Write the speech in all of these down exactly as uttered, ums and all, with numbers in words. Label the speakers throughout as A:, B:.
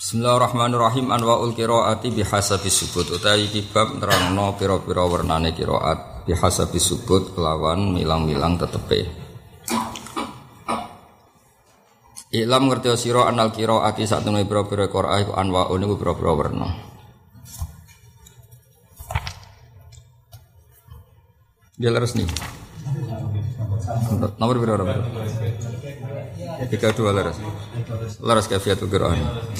A: Bismillahirrahmanirrahim. Anwaul qiraati bihasabi subut. Utawi iki bab nerangno pira-pira wernane qiraat bihasabi subut kelawan milang-milang tetepe. Ilam ngerti sira anal qiraati satune pira-pira qiraat iku anwaun iku pira-pira werna. Dia leres nih. Nomor berapa? Tiga dua leres. Leres kafiatul qiraat.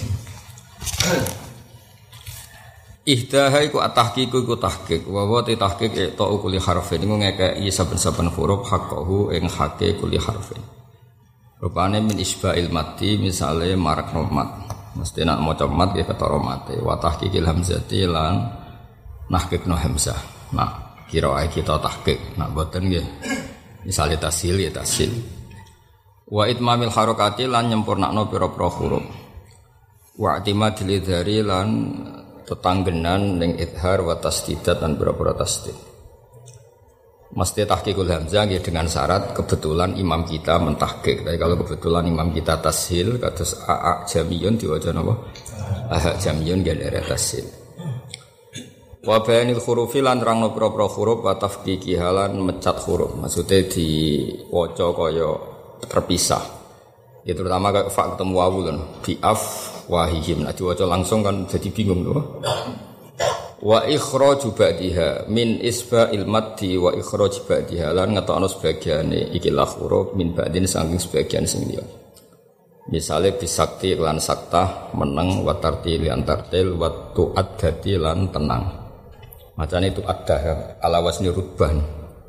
A: Ihdaha iku at-tahqiqu iku tahqiq wa wa tahqiq ta kulli harfin iku ngekeki saben-saben huruf haqqahu ing haqqe kulli harfin. Rupane min isba'il mati misale marak mat. Mesti nak maca mat ya ketara mate wa tahqiqil hamzati lan nahqiqno hamzah. Nah, kira kita tahqiq. Nah, boten nggih. Misale tasil ya tasil. Wa itmamil harakati lan nyempurnakno pira-pira huruf. Wa i'timadil idhari lan tetanggenan ning idhar wa tasdidat lan pira-pira tasdid. Mesti tahqiqul hamzah nggih dengan syarat kebetulan imam kita mentahqiq. Tapi kalau kebetulan imam kita tashil kados a jamiyun diwaca napa? A jamiyun nggih dari tashil. Wa bayanil hurufi lan nerangno pira-pira huruf wa tafqiqi halan mecat huruf. Maksudnya diwaca kaya terpisah. Ya terutama kayak fa ketemu wawu kan biaf wahihim. Nah diwaca langsung kan jadi bingung loh. Wa ikhraju ba'diha min isba'il maddi wa ikhraj ba'diha lan ngetokno sebagiane iki lah huruf min ba'din saking sebagian sing liya. Misale bisakti lan saktah meneng wa tartil lan tartil wa tu'addati lan tenang. Macane itu addah ala wasni rubban.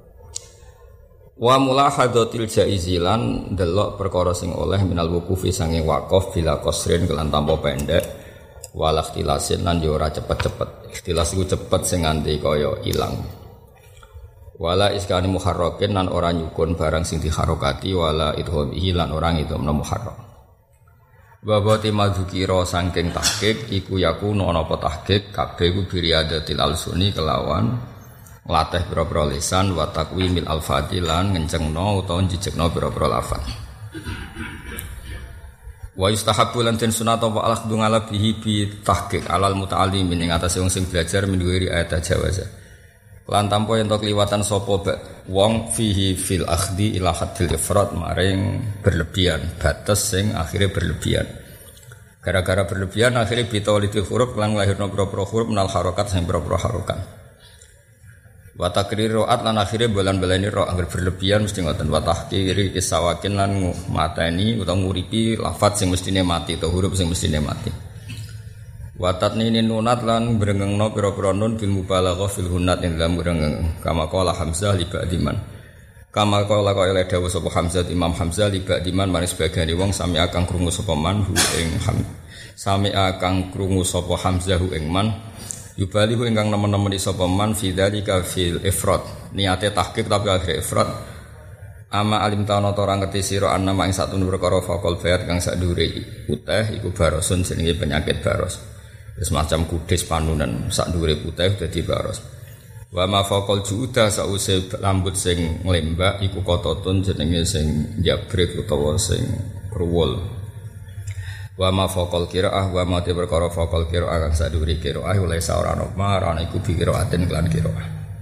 A: Wa mulahadatil jaizilan delok perkara sing oleh minal wuqufi sange waqaf bila qasrin kelan tanpa pendek wal ikhtilasin lan yo ora cepet-cepet. Ikhtilas iku cepet sing nganti kaya ilang. Wala iskani muharrakin lan ora nyukun barang sing diharokati wala idhomihi lan ora ngidhamna muharrak. Wa bati madzukira saking tahqiq iku yakunu ana apa tahqiq kabeh iku biriadatil alsuni kelawan latih pira-pira lisan wa taqwimil alfati lan ngencengno utawa njejekno pira-pira lafaz. Wa yustahabbu lan den sunat apa al-akhdhu ala bihi bi tahqiq alal muta'allim ing atase wong sing belajar min wiri ayat jawaza. Lan tanpa yen to kliwatan sapa wong fihi fil akhdhi ila haddil ifrat maring berlebihan, batas sing akhire berlebihan. Gara-gara berlebihan akhire bitawlidil huruf lan lahirna pira-pira huruf menal harakat sing pira-pira harakat. Wa takrir ro'at lan akhire bolan-balani ro angger berlebihan mesti ngoten wa tahqiri isawakin lan mateni utawa nguripi lafaz sing mestine mati atau huruf sing mestine mati. Wa tatnini nunat lan brengengno pira-pira nun bil mubalaghah fil hunat ing dalam brengeng kama qala Hamzah li ba'diman. Kama qala qala dawuh sapa Hamzah Imam Hamzah li ba'diman maris sebagian wong sami akang krungu sapa man hu ing ham sami akang krungu sapa Hamzah hu ing man yubalihu ingkang nemen-nemen sapa man fi dzalika fil ifrad niate tahqiq tapi akhir ifrad ama alim ta'ana ta ora ngerti sira ana ing satune perkara faqal bayat kang sak dure putih iku barosun jenenge penyakit baros semacam kudis panunan sak dure putih dadi baros wa ma faqal juuda sause rambut sing nglembak iku kototun jenenge sing njabrek utawa sing kruwul. Wa ma faqal qiraah wa ma te perkara faqal qiraah kang saduri qiraah oleh saorane marane iku bi qiraatin lan qiraah.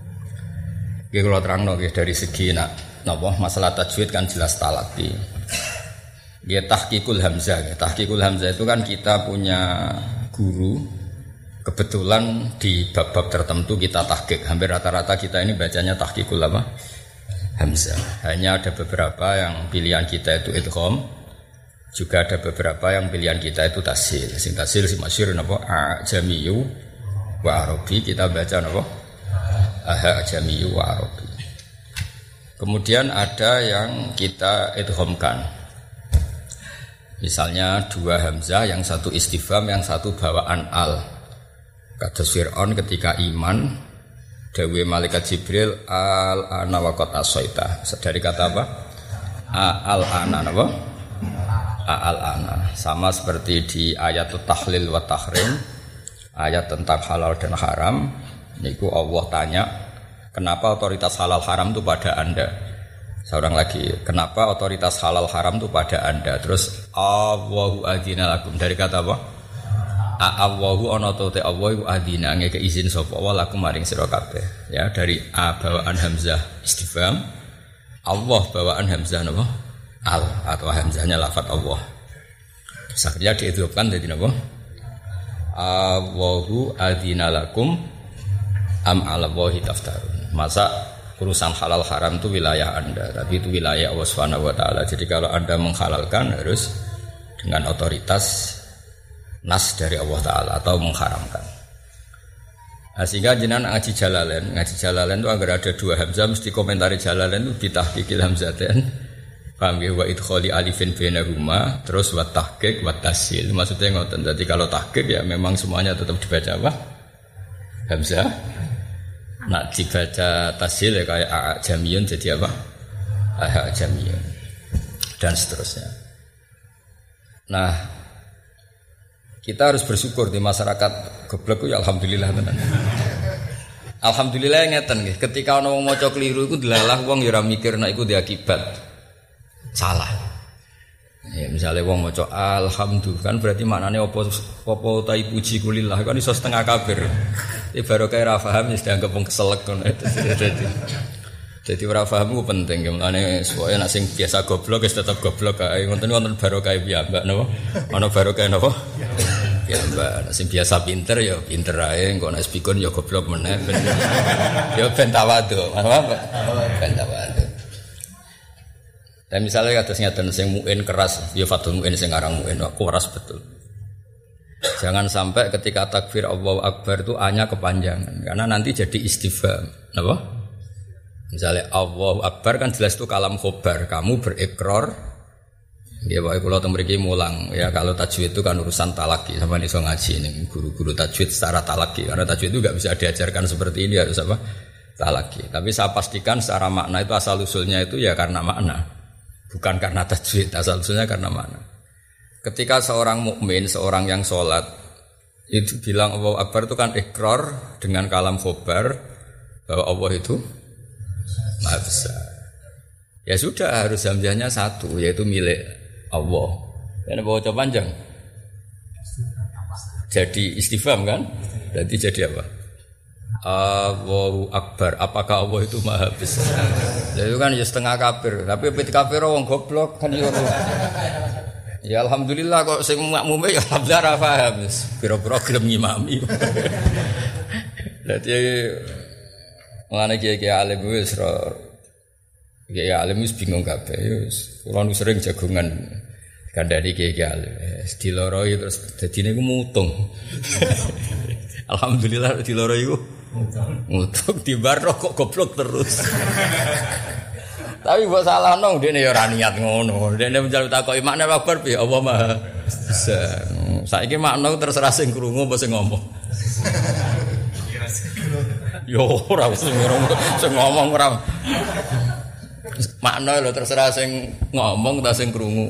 A: Iki kula terangno nggih dari segi nak napa masalah tajwid kan jelas talaqqi. Nggih tahqiqul hamzah, nggih tahqiqul hamzah itu kan kita punya guru kebetulan di bab-bab tertentu kita tahqiq. Hampir rata-rata kita ini bacanya tahqiqul apa? Hamzah. Hanya ada beberapa yang pilihan kita itu idgham. Juga ada beberapa yang pilihan kita itu tasil. Sing tasil si masyhur napa ajamiyu wa arabi kita baca napa aha ajamiyu wa arabi. Kemudian ada yang kita idghamkan. Misalnya dua hamzah yang satu istifham yang satu bawaan al. Kados Fir'aun ketika iman dawuh malaikat Jibril al ana wa qad asaita. Dari kata apa? Al ana napa? Al-ana sama seperti di ayat tahlil wa tahrim ayat tentang halal dan haram niku Allah tanya kenapa otoritas halal haram itu pada anda seorang lagi kenapa otoritas halal haram itu pada anda terus Allahu adzina lakum dari kata apa A'awahu ana te Allah iku adina ngeke izin sapa wa lakum maring sira kabeh. Ya dari a bawaan hamzah istifham. Allah bawaan hamzah napa? Al atau hamzahnya lafaz Allah. Sakya diidhofkan dadi napa? Allahu adina lakum am 'ala Allahi taftarun. Masa urusan halal haram itu wilayah Anda, tapi itu wilayah Allah Subhanahu wa taala. Jadi kalau Anda menghalalkan harus dengan otoritas nas dari Allah taala atau mengharamkan. Nah, sehingga jenengan ngaji Jalalain, ngaji Jalalain itu agar ada dua hamzah mesti komentari Jalalain itu bitahqiqil hamzatain. Paham ya, wa idkhali alifin bainahuma terus wa tahqiq wa tasil. Maksudnya ngoten. Jadi kalau tahqiq ya memang semuanya tetap dibaca apa? Hamzah. Nak dibaca tasil ya kayak a jamiyun jadi apa? A jamiyun. Dan seterusnya. Nah, kita harus bersyukur di masyarakat goblok ya alhamdulillah tenan. Alhamdulillah ngeten nggih, ketika ana wong maca keliru iku delalah wong ya ora mikir nek iku diakibat salah. Ya misalnya wong maca alhamdulillah kan berarti maknane apa apa ta puji kulillah kan iso setengah kafir. Iki baru kaya ra paham wis dianggap wong keselek ngono. Dadi dadi ora paham ku penting mulane suwe nek sing biasa goblok wis tetep goblok kae ngoten wonten barokah piyambak napa? Ana barokah napa? Ya mbak, sing biasa pinter ya pinter ae, engko nek pikun ya goblok meneh ben. Ya ben tawadhu, apa? Ben tawadhu. Dan misalnya kados ngeten sing muin keras, ya fatul muin sing aran muin keras betul. Jangan sampai ketika takbir Allahu Akbar itu hanya kepanjangan karena nanti jadi istifham. Napa? Misalnya Allahu Akbar kan jelas itu kalam khobar, kamu berikrar. Ya Pak, kalau tembriki mulang ya kalau tajwid itu kan urusan talaki sama iso ngaji ini guru-guru tajwid secara talaki karena tajwid itu nggak bisa diajarkan seperti ini harus apa talaki. Tapi saya pastikan secara makna itu asal usulnya itu ya karena makna bukan karena tajwid, asal usulnya karena makna. Ketika seorang mukmin seorang yang sholat itu bilang Allahu Akbar itu kan ikrar dengan kalam khobar bahwa Allah itu Maha Besar. Ya sudah harus hamzahnya satu yaitu milik Allah. Ini bawa coba panjang. Jadi istifham kan? Berarti jadi apa? Allahu Akbar. Apakah Allah itu Maha Besar? Jadi kan ya setengah kafir. Tapi ketika kafir orang goblok kan ya. Ya alhamdulillah kok sing makmume ya alhamdulillah ra paham. Pira-pira gelem ngimami. Dadi ngene iki alim wis ora kiai alim wis bingung kabeh wis. Kula nu sering jagongan kandhani kiai alim. Wis diloroi terus dadine iku mutung. Alhamdulillah diloroi iku mutung tibar kok goblok terus. Tapi mbok salahno ndekne ya ora niat ngono. Ndekne menjaluk takoki makna Akbar piye Allah Maha Besar. Saiki makna terserah sing krungu apa sing ngomong. Yo ora sing ngomong ora. Makna lho terserah sing ngomong ta sing krungu.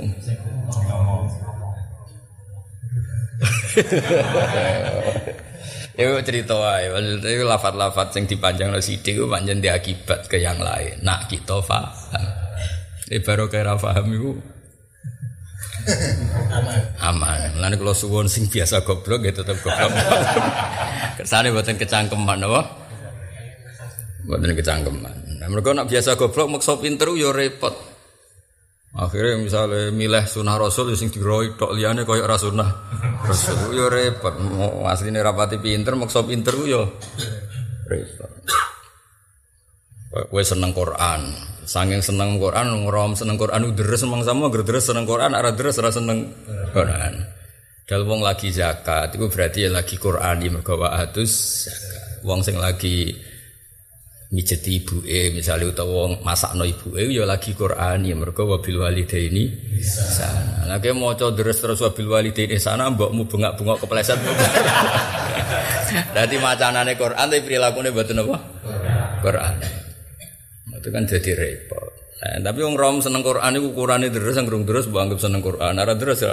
A: Itu cerita wae, itu lafaz-lafaz sing dipanjangno sithik ku pancen diakibat ke yang lain. Nak kita paham. Iki baru kira paham iku aman. Aman. Lan kula suwun sing biasa goblok ya tetep goblok. Kersane mboten kecangkeman apa? Mboten kecangkeman. Nah, mergo nak biasa goblok maksa pinter yo repot. Akhirnya misalnya milih sunah Rasul sing diroi tok liyane koyo ora sunah Rasul yo repot. Asline rapati pinter maksa pinter yo repot. Kowe seneng Quran, saking seneng Quran ngrom seneng Quran deres mangsamu agar deres seneng Quran ora deres ora seneng Quran. Dal wong lagi zakat iku berarti ya lagi Quran iki mergo wa'atus zakat. Wong sing lagi mijeti ibuke misalnya utawa masakno ibuke ya lagi Quran ya mergo wabil walidaini sana. Lah ki maca deres terus wabil walidaini sana mbokmu bengak-bengok kepleset. Dadi macanane Quran tapi prilakune mboten apa? Quran. Itu kan jadi repot. Nah, tapi wong rom seneng Quran iku ukurane deres sing urung deres mbok anggap seneng Quran. Ora deres ya.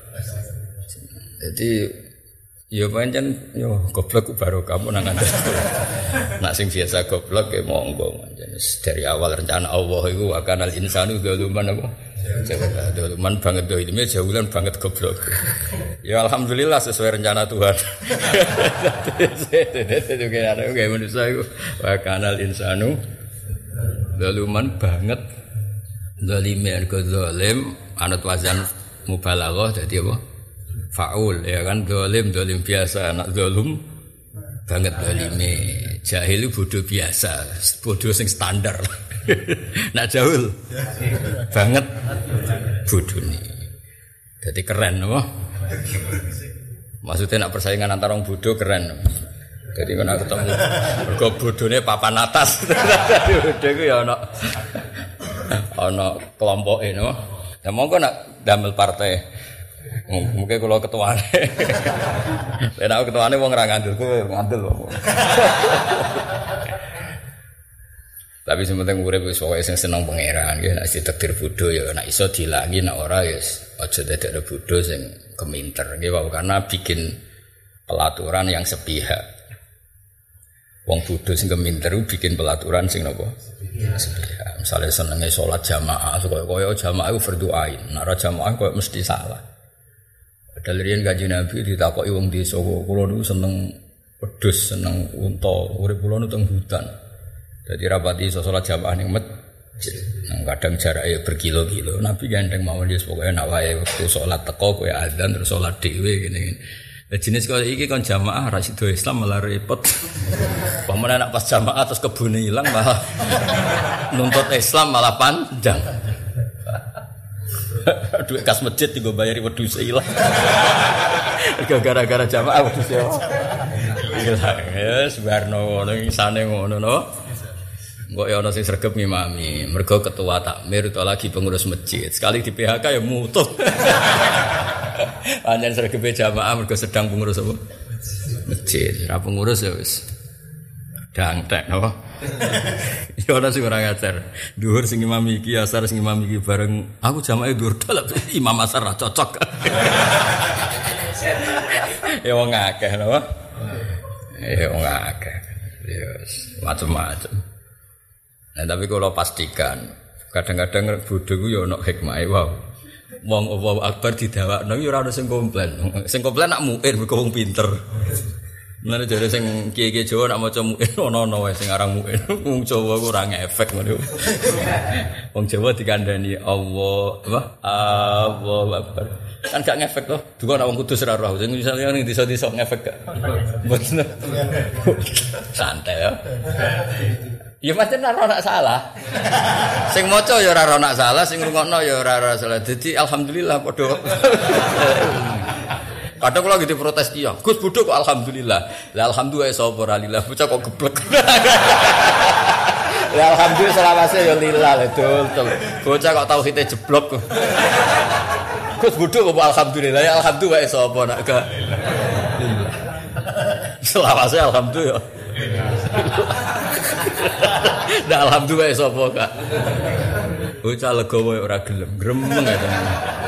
A: Jadi ya pancen yo goblok baru kamu nang ngandel. Nak sing biasa goblok ya monggo pancen dari awal rencana Allah iku akan al insanu zaluman apa Doluman banget do ilmu jaulan banget goblok. Ya alhamdulillah sesuai rencana Tuhan. Itu kayak kayak manusia itu wa kanal insanu doluman banget. Zalime argo zalim anut wazan mubalaghah dadi apa? Faul ya kan zalim zalim biasa anak zalum banget zalime. Jahil bodoh biasa, bodoh sing standar. Nak jahil banget bodoh nih. Jadi keren apa? Maksudnya nak persaingan antara orang bodoh keren. Jadi kena ketemu mergo bodone papan atas. Bodoh ku ya ana ana kelompoke no. Ya monggo nak damel partai. Mungkin kalau ketuane. Nek aku ketuane wong ra ngandel kowe ngandel kok. Tapi sementing urip wis pokoke sing seneng pangeran nggih nek ditakdir bodho ya nek iso dilangi nek ora ya aja dadekno bodho sing keminter nggih wae karena bikin pelaturan yang sepihak. Wong bodho sing keminter bikin pelaturan sing napa? Sepihak. Misale senenge salat jamaah kaya-kaya jamaah iku fardhu ain. Nek ora jamaah kok mesti salah. Padahal riyen Kanjeng Nabi ditakoki wong desa kula niku seneng wedhus, seneng unta, urip kula niku teng hutan. Jadi rapati iso salat jamaah ning masjid. Nang kadang jarake berkilo-kilo. Nabi gandeng mawon wis pokoke nek wae wektu salat teko kowe azan terus salat dhewe ngene. Lah jenis kaya iki kon jamaah ra sido Islam malah repot. Pamane nek pas jamaah terus kebune ilang malah nuntut Islam malah panjang. Duit kas masjid digo bayari wedhus ilang. Gara-gara jamaah wedhus ilang. Ya sebarno ngono isane ngono no. Kok ya ana sing sregep ngimami, mergo ketua takmir itu lagi pengurus masjid. Sekali di P H K ya mutuh. Pancen sregepe jamaah mergo sedang pengurus apa? Masjid. Ra pengurus ya wis dangtek napa? Ya ana sing ora ngajar. Dhuwur sing ngimami iki, asar sing ngimami iki bareng aku jamaah dhuwur dalem imam asar ra cocok. Ya wong akeh napa? Ya wong akeh. Ya macam-macam. Nah, tapi kalau pastikan, kadang-kadang bodoh ku ya ana hikmahe wae. Wong Allahu Akbar didawakno ya ora ono sing komplain. Sing komplain nak muin mergo wong pinter. Menane jare sing kiye-kiye Jawa nak maca muin ono-ono wae sing aran muin. Wong Jawa ku ora ngefek ngono. Wong Jawa dikandani Allah, apa? Allahu Akbar. Kan gak ngefek to. Duka nek wong kudus ora roh. Sing misale ning desa-desa ngefek gak. Mboten. Santai ya. Ya pancen ora ana salah. Sing maca ya ora ana salah, sing ngrungokno ya ora ana salah. Dadi alhamdulillah padha. Kadang kula gitu protes iya. Gus bodho kok alhamdulillah. Lah alhamdulillah sapa ora lillah. Bocah kok geblek. Lah alhamdulillah selawase ya lillah betul betul. Bocah kok tauhide jeblok. Gus bodho kok alhamdulillah. Ya alhamdulillah sapa nak gak. Selawase alhamdulillah. Nah alhamdulillah sapa kak. Bocah legowo ora gelem, gremeng ya tenan.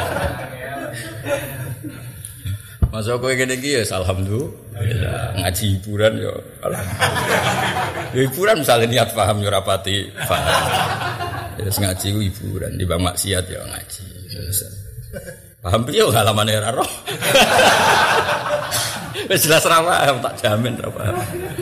A: Masa kowe ngene iki ya alhamdulillah. Ngaji hiburan ya alhamdulillah. Hiburan misalnya niat paham ya ora pati paham. Ya ngaji ku hiburan, di bang maksiat ya ngaji. Paham piye halamane ora roh. Wis jelas ra paham tak jamin ra paham.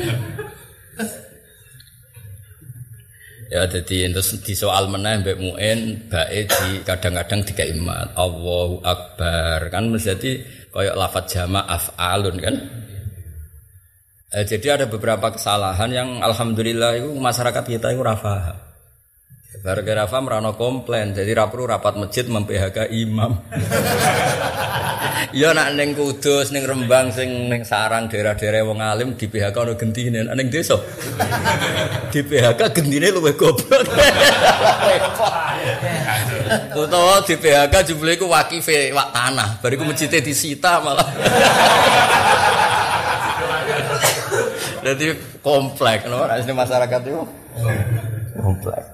A: Ya jadi terus di soal meneh mbek muin bae di kadang-kadang dikai mat Allahu Akbar kan mesti koyo lafaz jamak af'alun kan. Eh, jadi ada beberapa kesalahan yang alhamdulillah itu masyarakat kita itu ora paham. Gara-gara paham ora ono komplain. Jadi ra perlu rapat masjid mem-P H K imam. Ya nak ning Kudus ning Rembang sing ning sarang daerah-daerah wong alim di P H K ono gentine ning desa. Di P H K gentine luwih goblok. Utawa di P H K jumlahe ku wakife wak tanah, bariku masjide disita malah. Jadi kompleks no asli masyarakat itu. Kompleks.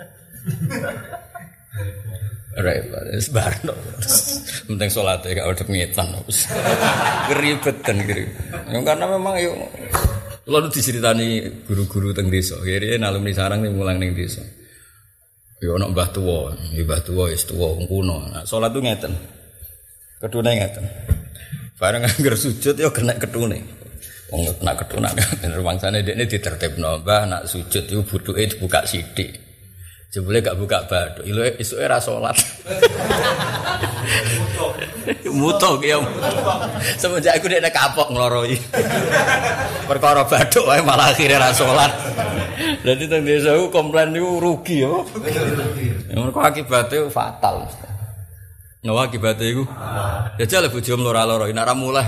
A: Repot, sebarno. Penting sholat ya, gak ada pengitan. Keribetan kiri. Karena memang yuk, lalu diceritani guru-guru teng desa. Kiri alumni sarang nih mulang neng desa. Ya ana mbah tuwa, mbah tuwa wis tuwa wong kuno. Nah, salat ku ngeten. Kedune ngeten. Bareng angger sujud ya kena ketune. Wong kena ketune kan rumangsane dekne ditertibno, Mbah nak sujud iku butuke dibuka sithik. Jebule gak buka bathuk, iluke esuke ra salat. Muto ki ya. Semenjak aku nek kapok ngloroi. Perkara bathuk wae malah akhire ra salat. Dadi teng desa ku komplain niku rugi ya. Mergo akibate fatal. No akibate iku. Jajal bojomu lara-lara nek ra mulih.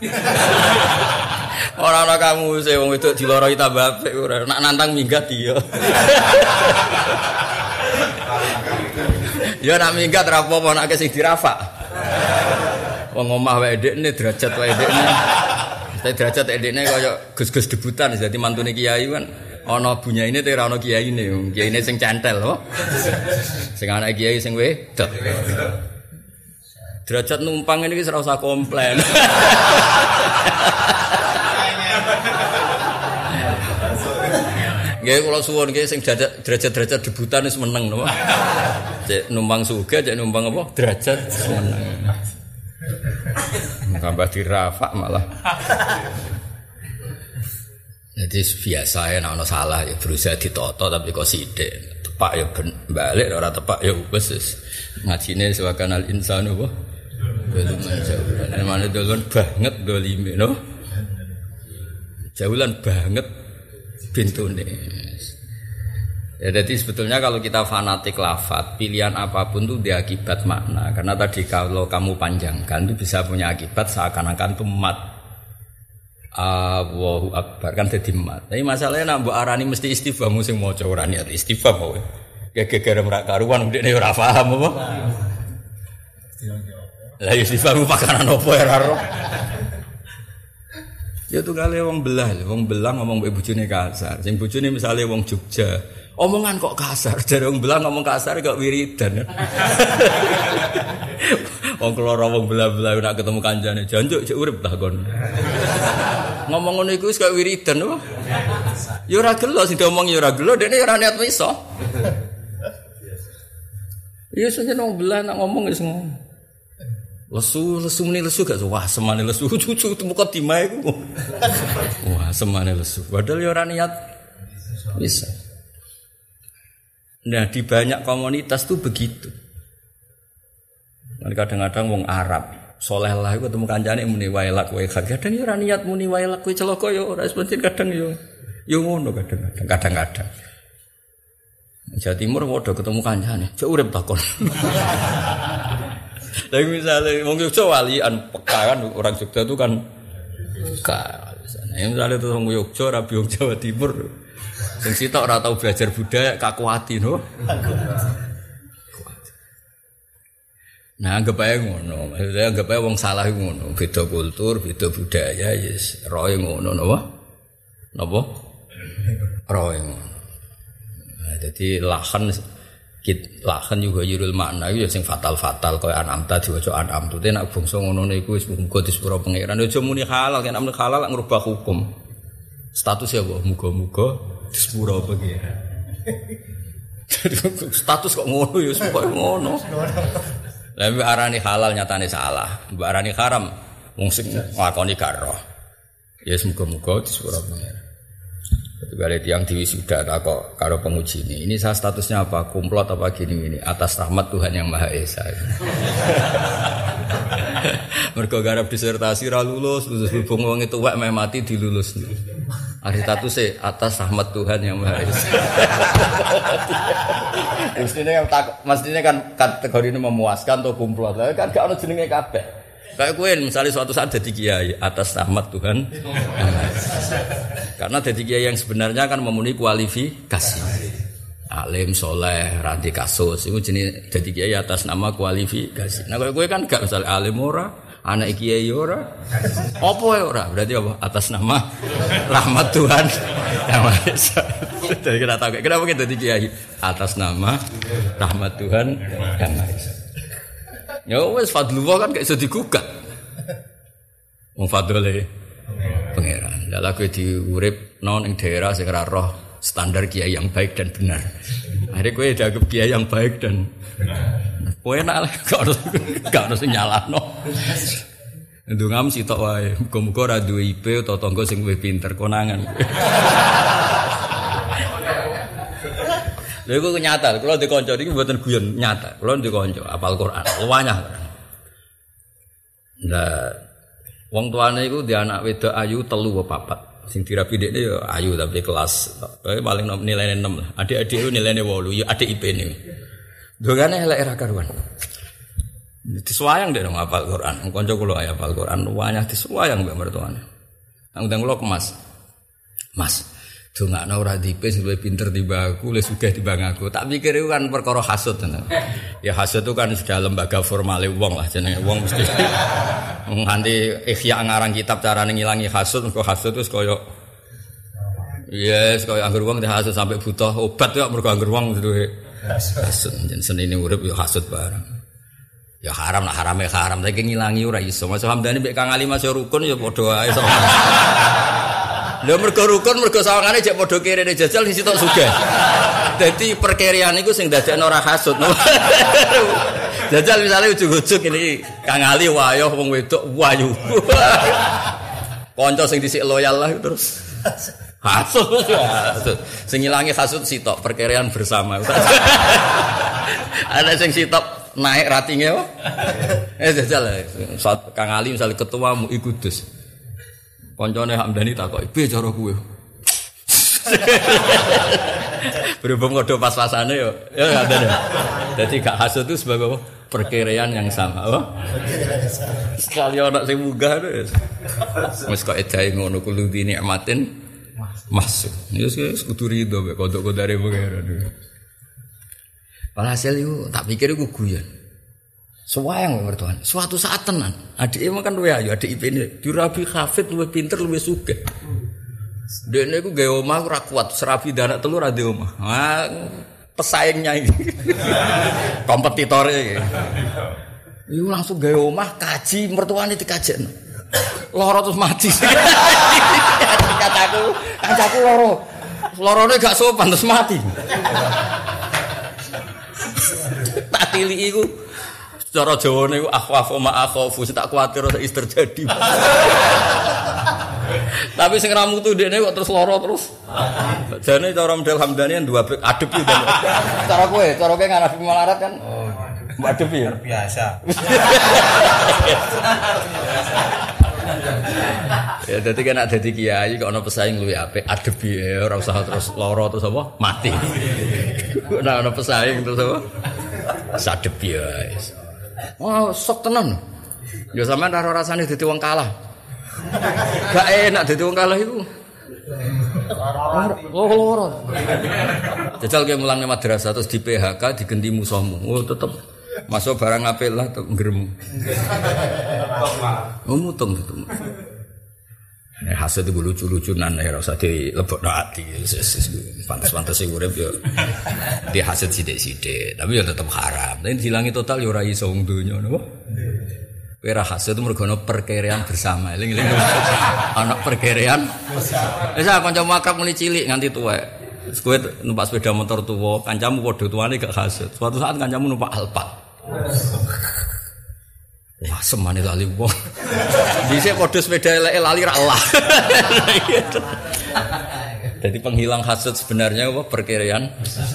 A: Ora ana kamu sing wong wedok diloroi tambah apik ora. Nak nantang minggat iya. Ya nak minggat ra apa-apa nek sing dirafak. Wong omah wae ndekne derajat wae ndekne. Tapi derajat ndekne kaya gus-gus debutan dadi mantune kiai kan ana bunyaine te ora ana kiyaine. Kiyaine sing cantel apa? Sing anak kiai sing wedok. Derajat numpang ini ora usah komplain. Nggih kula suwun nggih sing derajat-derajat debutan wis meneng napa. Cek numpang sugih, cek numpang apa? Derajat meneng. Tambah dirafak malah. Jadi biasa ya ana salah ya berusaha ditoto tapi kok sithik. Tepak ya balik ora tepak ya wis ngajine sewakanal insanu apa? Belum jaulan. Mana dolon banget dolime no. Jaulan banget bintune. Ya jadi sebetulnya kalau kita fanatik lafaz, pilihan apapun itu dia akibat makna. Karena tadi kalau kamu panjangkan itu bisa punya akibat seakan-akan itu mat. Allahu Akbar kan dadi mat. Tapi masalahnya nak mbok arani mesti istifham sing maca ora niat istifham wae. Gegere ora karuan ndekne ora paham apa. Lah istifham pakanan opo ora ro. Ya tuh kali wong belah, wong belah ngomong mbek bojone kasar. Sing bojone misale wong Jogja, omongan kok kasar. Jare wong belah ngomong kasar kok wiridan. Wong keloro wong belah-belah nek ketemu kancane, janjuk cek urip ta kon. Ngomong ngono iku wis kok wiridan apa? Ya ora gelo sing diomong ya ora gelo, dekne ora niat iso. Iya sajen wong belah nak ngomong wis ngono. Lesu, lesu meni lesu gak wah semane lesu cucu muka timae ku. Wah, semane lesu. Padahal ya ora niat bisa. Nah, di banyak komunitas tuh begitu. Kadang-kadang wong Arab, soleh lah iku ketemu kancane muni wae lak wae kadang ya ora niat muni wae lak kowe celaka ya ora sebentin kadang ya ya ngono kadang-kadang kadang-kadang. Jawa Timur padha ketemu kancane, cek urip takon. Lagi misalnya wong Jogja walian peka kan orang Jogja itu kan peka. Misalnya, misalnya itu wong Jogja rabi wong Jawa Timur, sing sitok ora tau belajar budaya kakuati no. Nah anggap ae ngono, maksudnya anggap ae wong salah ngono, beda kultur, beda budaya, yes, roe ngono napa? Napa? Roe ngono. Nah, jadi lahan kit lahan juga yurul makna itu ya sing fatal-fatal kaya anamta diwaca anam tu nek bangsa ngono niku wis muga disepuro pangeran aja muni halal kan amne halal ngrubah hukum status ya kok muga-muga disepuro pangeran status kok ngono ya kok ngono lha mbok arani halal nyatane salah mbok arani haram wong sing nglakoni gak roh ya muga-muga disepuro pangeran. Balik yang diwisuda kok karo penguji ini. Ini saya statusnya apa? Kumplot apa gini ini? Atas rahmat Tuhan yang Maha Esa. Mergo garap disertasi ra lulus, lulus hubung wong itu wek meh mati dilulus. Ari statusé atas rahmat Tuhan yang Maha Esa. Mestine kan mestine kan kategori ini memuaskan atau kumplot. Lah kan gak ono jenenge kabeh. Kayak kowe misalnya suatu saat jadi kiai atas rahmat Tuhan. Karena jadi kiai yang sebenarnya kan memenuhi kualifikasi. Alim, soleh, ranti kasus. Itu jenis jadi kiai atas nama kualifikasi. Nah kalau kowe kan gak misalnya alim ora, anak kiai ora. Apa ya ora? Berarti apa? Atas nama rahmat Tuhan yang Maha Esa. Jadi kita tahu kenapa kita jadi kiai atas nama rahmat Tuhan yang Maha Esa. Ya wis fadlullah kan gak iso digugat. Wong fadlule pangeran. Lah kowe diurip nang ing daerah sing ora roh standar kiai yang baik dan benar. Akhirnya kowe dianggap kiai yang baik dan kowe enak lah gak harus gak harus nyalahno. Ndungam sitok wae, muga-muga ora duwe I P utawa tangga sing luwih pinter konangan. Lha iku nyata, kula ndek kanca iki mboten guyon, nyata. Kula ndek kanca hafal Quran, luwanyah. Lah wong tuane iku di anak wedok ayu telu apa papat. Sing dirabi dekne ya ayu tapi kelas paling nilainya enam lah. Adik-adik itu nilainya delapan, ya adik I P-ne. Dongane elek ra karuan. Disuwayang dek nang hafal Quran. Kanca kula ae hafal Quran, luwanyah disuwayang mbek mertuane. Nang kula kemas. Mas, dongakno ora di I P sing luwih pinter timbang aku, luwih sugih timbang aku. Tak pikir itu kan perkara hasud tenan. Ya hasud itu kan sudah lembaga formale wong lah jenenge wong mesti nganti ikhya ngarang kitab carane ngilangi hasud, mergo hasud wis kaya yes, kaya anggur wong hasud sampai butuh obat kok mergo anggur wong duwe hasud. Jen senine urip ya hasud barang. Ya haram lah harame haram, tapi ngilangi ora iso. Mas Hamdani mek Kang Ali Mas rukun ya padha ae sama. Lha mergo rukun mergo sawangane jek padha kirene jajal sing sitok sugih. Dadi perkirian iku sing dadekno ora hasud. Jajal misale ujug-ujug ini Kang Ali wayoh wong wedok wayu. Kanca sing dhisik loyal lah terus hasud. Sing ngilangi hasud sitok perkirian bersama. Ada sing sitok naik ratingnya apa? Eh jajal saat Kang Ali misalnya ketua M U I Kudus. Koncone Hamdani takoki, "Piye cara kuwe?" Berhubung ngodo pas-pasane yo. Ya ngoten. Dadi gak hasud itu sebagai apa? Perkiraan yang sama, apa? Sekali ana sing munggah wis. Wis kok edahe ngono kudu dinikmatin masuk. Ya wis kudu rido mek kodok-kodare pengen. Walhasil itu tak pikir itu guyon. Sewayang mertuan. Suatu saat tenan. Adik emang kan luwe ayu, adik I P ini dirabi hafid luwe pinter luwe sugih. Dene iku gawe omah ora kuat, serabi anak telu ra ndek omah. Ah, pesaingnya ini. Kompetitore iki. Iku langsung gawe omah kaji mertuane dikajekno. Loro terus mati. Kataku, kancaku loro. Lorone gak sopan terus mati. Tak tili iku cara Jawane iku akhwafu ma akhafu tak kuwatir wis terjadi. Tapi sing ra mutu dekne kok terus lara terus. Jane cara model Hamdani dua adep iki. Cara kowe, cara kowe ngarafi malarat kan. Oh, adep ya. Biasa. Ya dadi kan ada dadi kiai kok ana pesaing luwih apik adep ya ora usah terus lara terus apa mati. Nek ana pesaing terus apa? Sadep ya. Oh, sok tenan. Ya sampean ora rasane dadi wong kalah. Gak enak dadi wong kalah iku. Oh, loro. Jajal ge mulang nang madrasah terus di P H K digenti musuhmu. Oh, tetep masuk barang apik lah tetep ngrem. Oh, mutung tetep. Nek hasud itu lucu-lucunan ora usah dilebokno ati. Pantes-pantes urip yo di hasud sithik-sithik, tapi yo tetep haram. Nek dilangi total yo ora iso wong donya napa? Kowe ra hasud mergo ana perkiraan bersama. Eling-eling ana perkiraan. Wis ah kancamu akrab mulai cilik nganti tuwek. Terus kowe numpak sepeda motor tuwa, kancamu padha tuane gak hasud. Suatu saat kancamu numpak Alphard. Wah, semane lali wong. Dhisik padha sepeda eleke lali ra Allah. Jadi penghilang hasud sebenarnya apa perkiraan.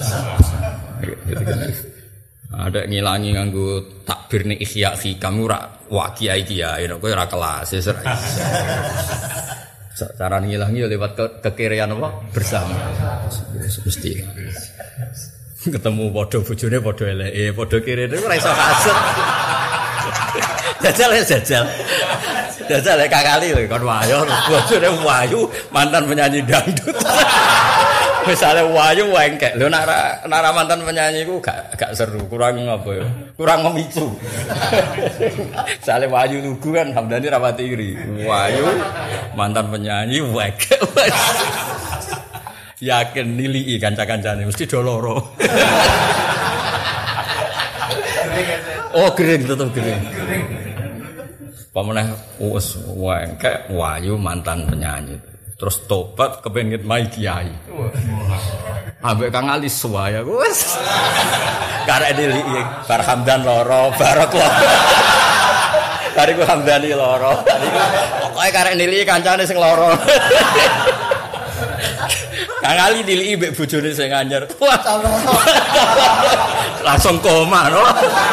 A: Ada ngilangi nganggo takbir ning Ihya Hikam ora wa kiai-kiai kowe ora kelas ya ora iso. Cara ngilangi lewat ke kekirian apa bersama. Mesti. Ketemu padha bojone padha eleke, padha kirene ora iso hasud. Jajal ya jajal. Jajal ya kakali lho kon wayu, bojone wayu, mantan penyanyi dangdut. Misalnya wayu wengkek. Lho nek nek mantan penyanyi iku gak gak seru, kurang apa ya? Kurang memicu. Misalnya wayu lugu kan Hamdani rapati iri. Wayu mantan penyanyi wengkek. Yakin nilii kanca-kancane mesti do loro. Oh, kering tetep kering. Pamanah wis wengkek wayu mantan penyanyi. Terus tobat kepengin mai kiai. Ambek Kang Ali suwaya wis. Karek dili bar Hamdan loro, barok loro. Bariku Hamdani loro. Pokoke karek nili kancane sing loro. Kang Ali dili mbek bojone sing anyar. Wah, langsung koma no.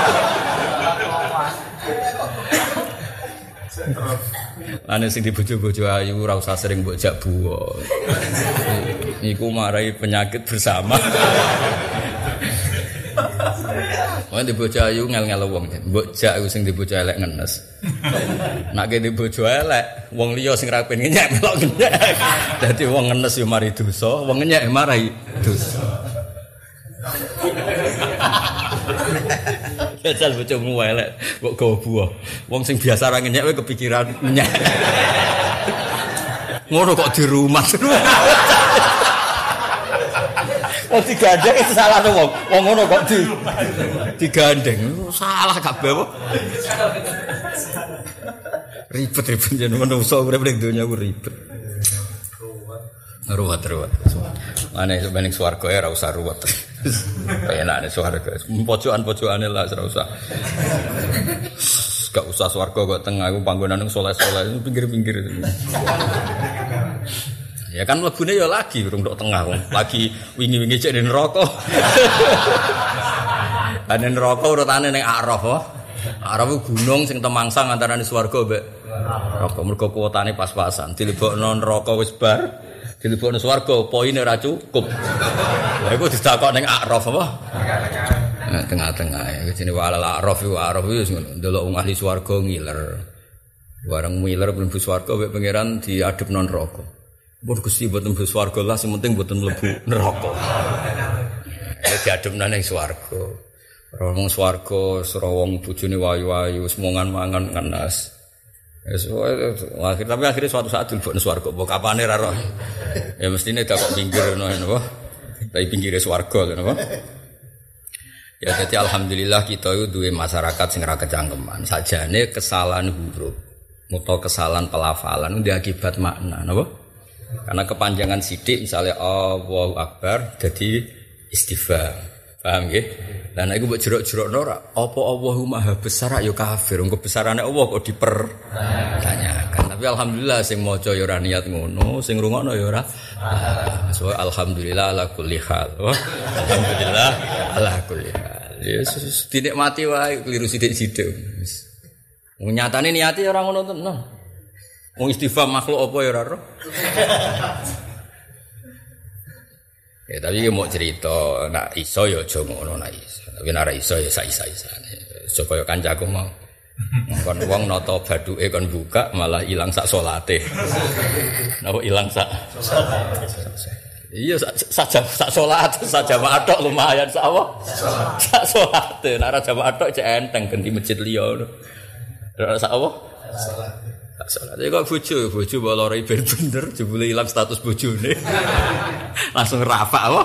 A: Ane sing dibojo-bojo ayu ora usah sering mbok jak buwo. Iku marai penyakit bersama. Wong dibojo ayu ngel-ngel wong. Mbok jak iku sing dibojo elek ngenes. Nek ki dibojo elek, wong liya sing ra pengen nyek melok nyek. Dadi wong ngenes yo mari dosa, wong nyek marai dosa. Jajal bojomu elek, mbok gawa buah. Wong sing biasa ra nyek kowe kepikiran nyek. Ngono kok di rumah. Oh digandeng itu salah wong. Wong ngono kok di digandeng. Salah kabeh apa? Ribet-ribet jeneng menungso urip ning donya ku ribet. Ruwet-ruwet. Mane sebenarnya swarga ora usah ruwet. Penake swarga. Pojokan-pojokane lah ora usah. Gak usah swarga kok tengah iku panggonan soleh-soleh pinggir-pinggir. Ya kan mlebune ya lagi urung tok tengah wong. Lagi wingi-wingi cek ning neraka. Ane neraka urutane ning Araf oh. Araf ku gunung sing temangsang antarane swarga mbek neraka. Mergo kuotane pas-pasan. Dilebokno neraka wis bar. Dilebokno swarga poine ora cukup. Lha iku ditakok ning Araf apa? Nah, tengah-tengah ya jenenge walal Araf iku Araf wis ngono. Ndelok wong ahli swarga ngiler. Bareng ngiler mlebu swarga mbek pangeran diadepno neraka. Mun Gusti mboten mlebu swarga lah sing penting mboten mlebu neraka. Ya diadepna ning swarga. Wong swarga sira wong bojone wayu-wayu semongan mangan ngenes. Wis akhir tapi akhirnya suatu saat dilebokne swarga. Mbok kapane ra roh. Ya mestine dak kok pinggir ngono napa. Tapi pinggire swarga lho napa. Ya jadi alhamdulillah kita itu duwe masyarakat sing ra kecangkeman. Sajane kesalahan huruf utawa kesalahan pelafalan ndek akibat makna napa? Karena kepanjangan sidik misalnya Allahu Akbar jadi istighfar. Paham nggih? Lah nek iku mbok jerok-jerokno ora apa Allahu Maha besar ya kafir. Wong kebesarane Allah kok dipertanyakan. Tapi alhamdulillah sing maca ya ora niat ngono, sing ngrungokno ya ora. So alhamdulillah ala kulli hal. Alhamdulillah ala kulli hal. Yesus dinikmati wae keliru sithik-sithik. Wis. Wong nyatane niate ora ngono tenan. Wong istighfar makhluk apa ya ora roh. Ya tapi mau cerita nak iso ya aja ngono nak iso. Tapi nek ora iso ya sak-isa-isane. Aja kaya kancaku mau. Kon wong nata baduke kon buka malah ilang sak salate. Napa ilang sak salate. Iya sak sak salat sak jamaah tok lumayan sak apa? Sak salate. Nek ora jamaah tok cek enteng ganti masjid liya ngono. Ora sak apa? Salat. Salat. Ya kok bojo, bojo mbok loro ben bener jebule ilang status bojone. Langsung rafa apa?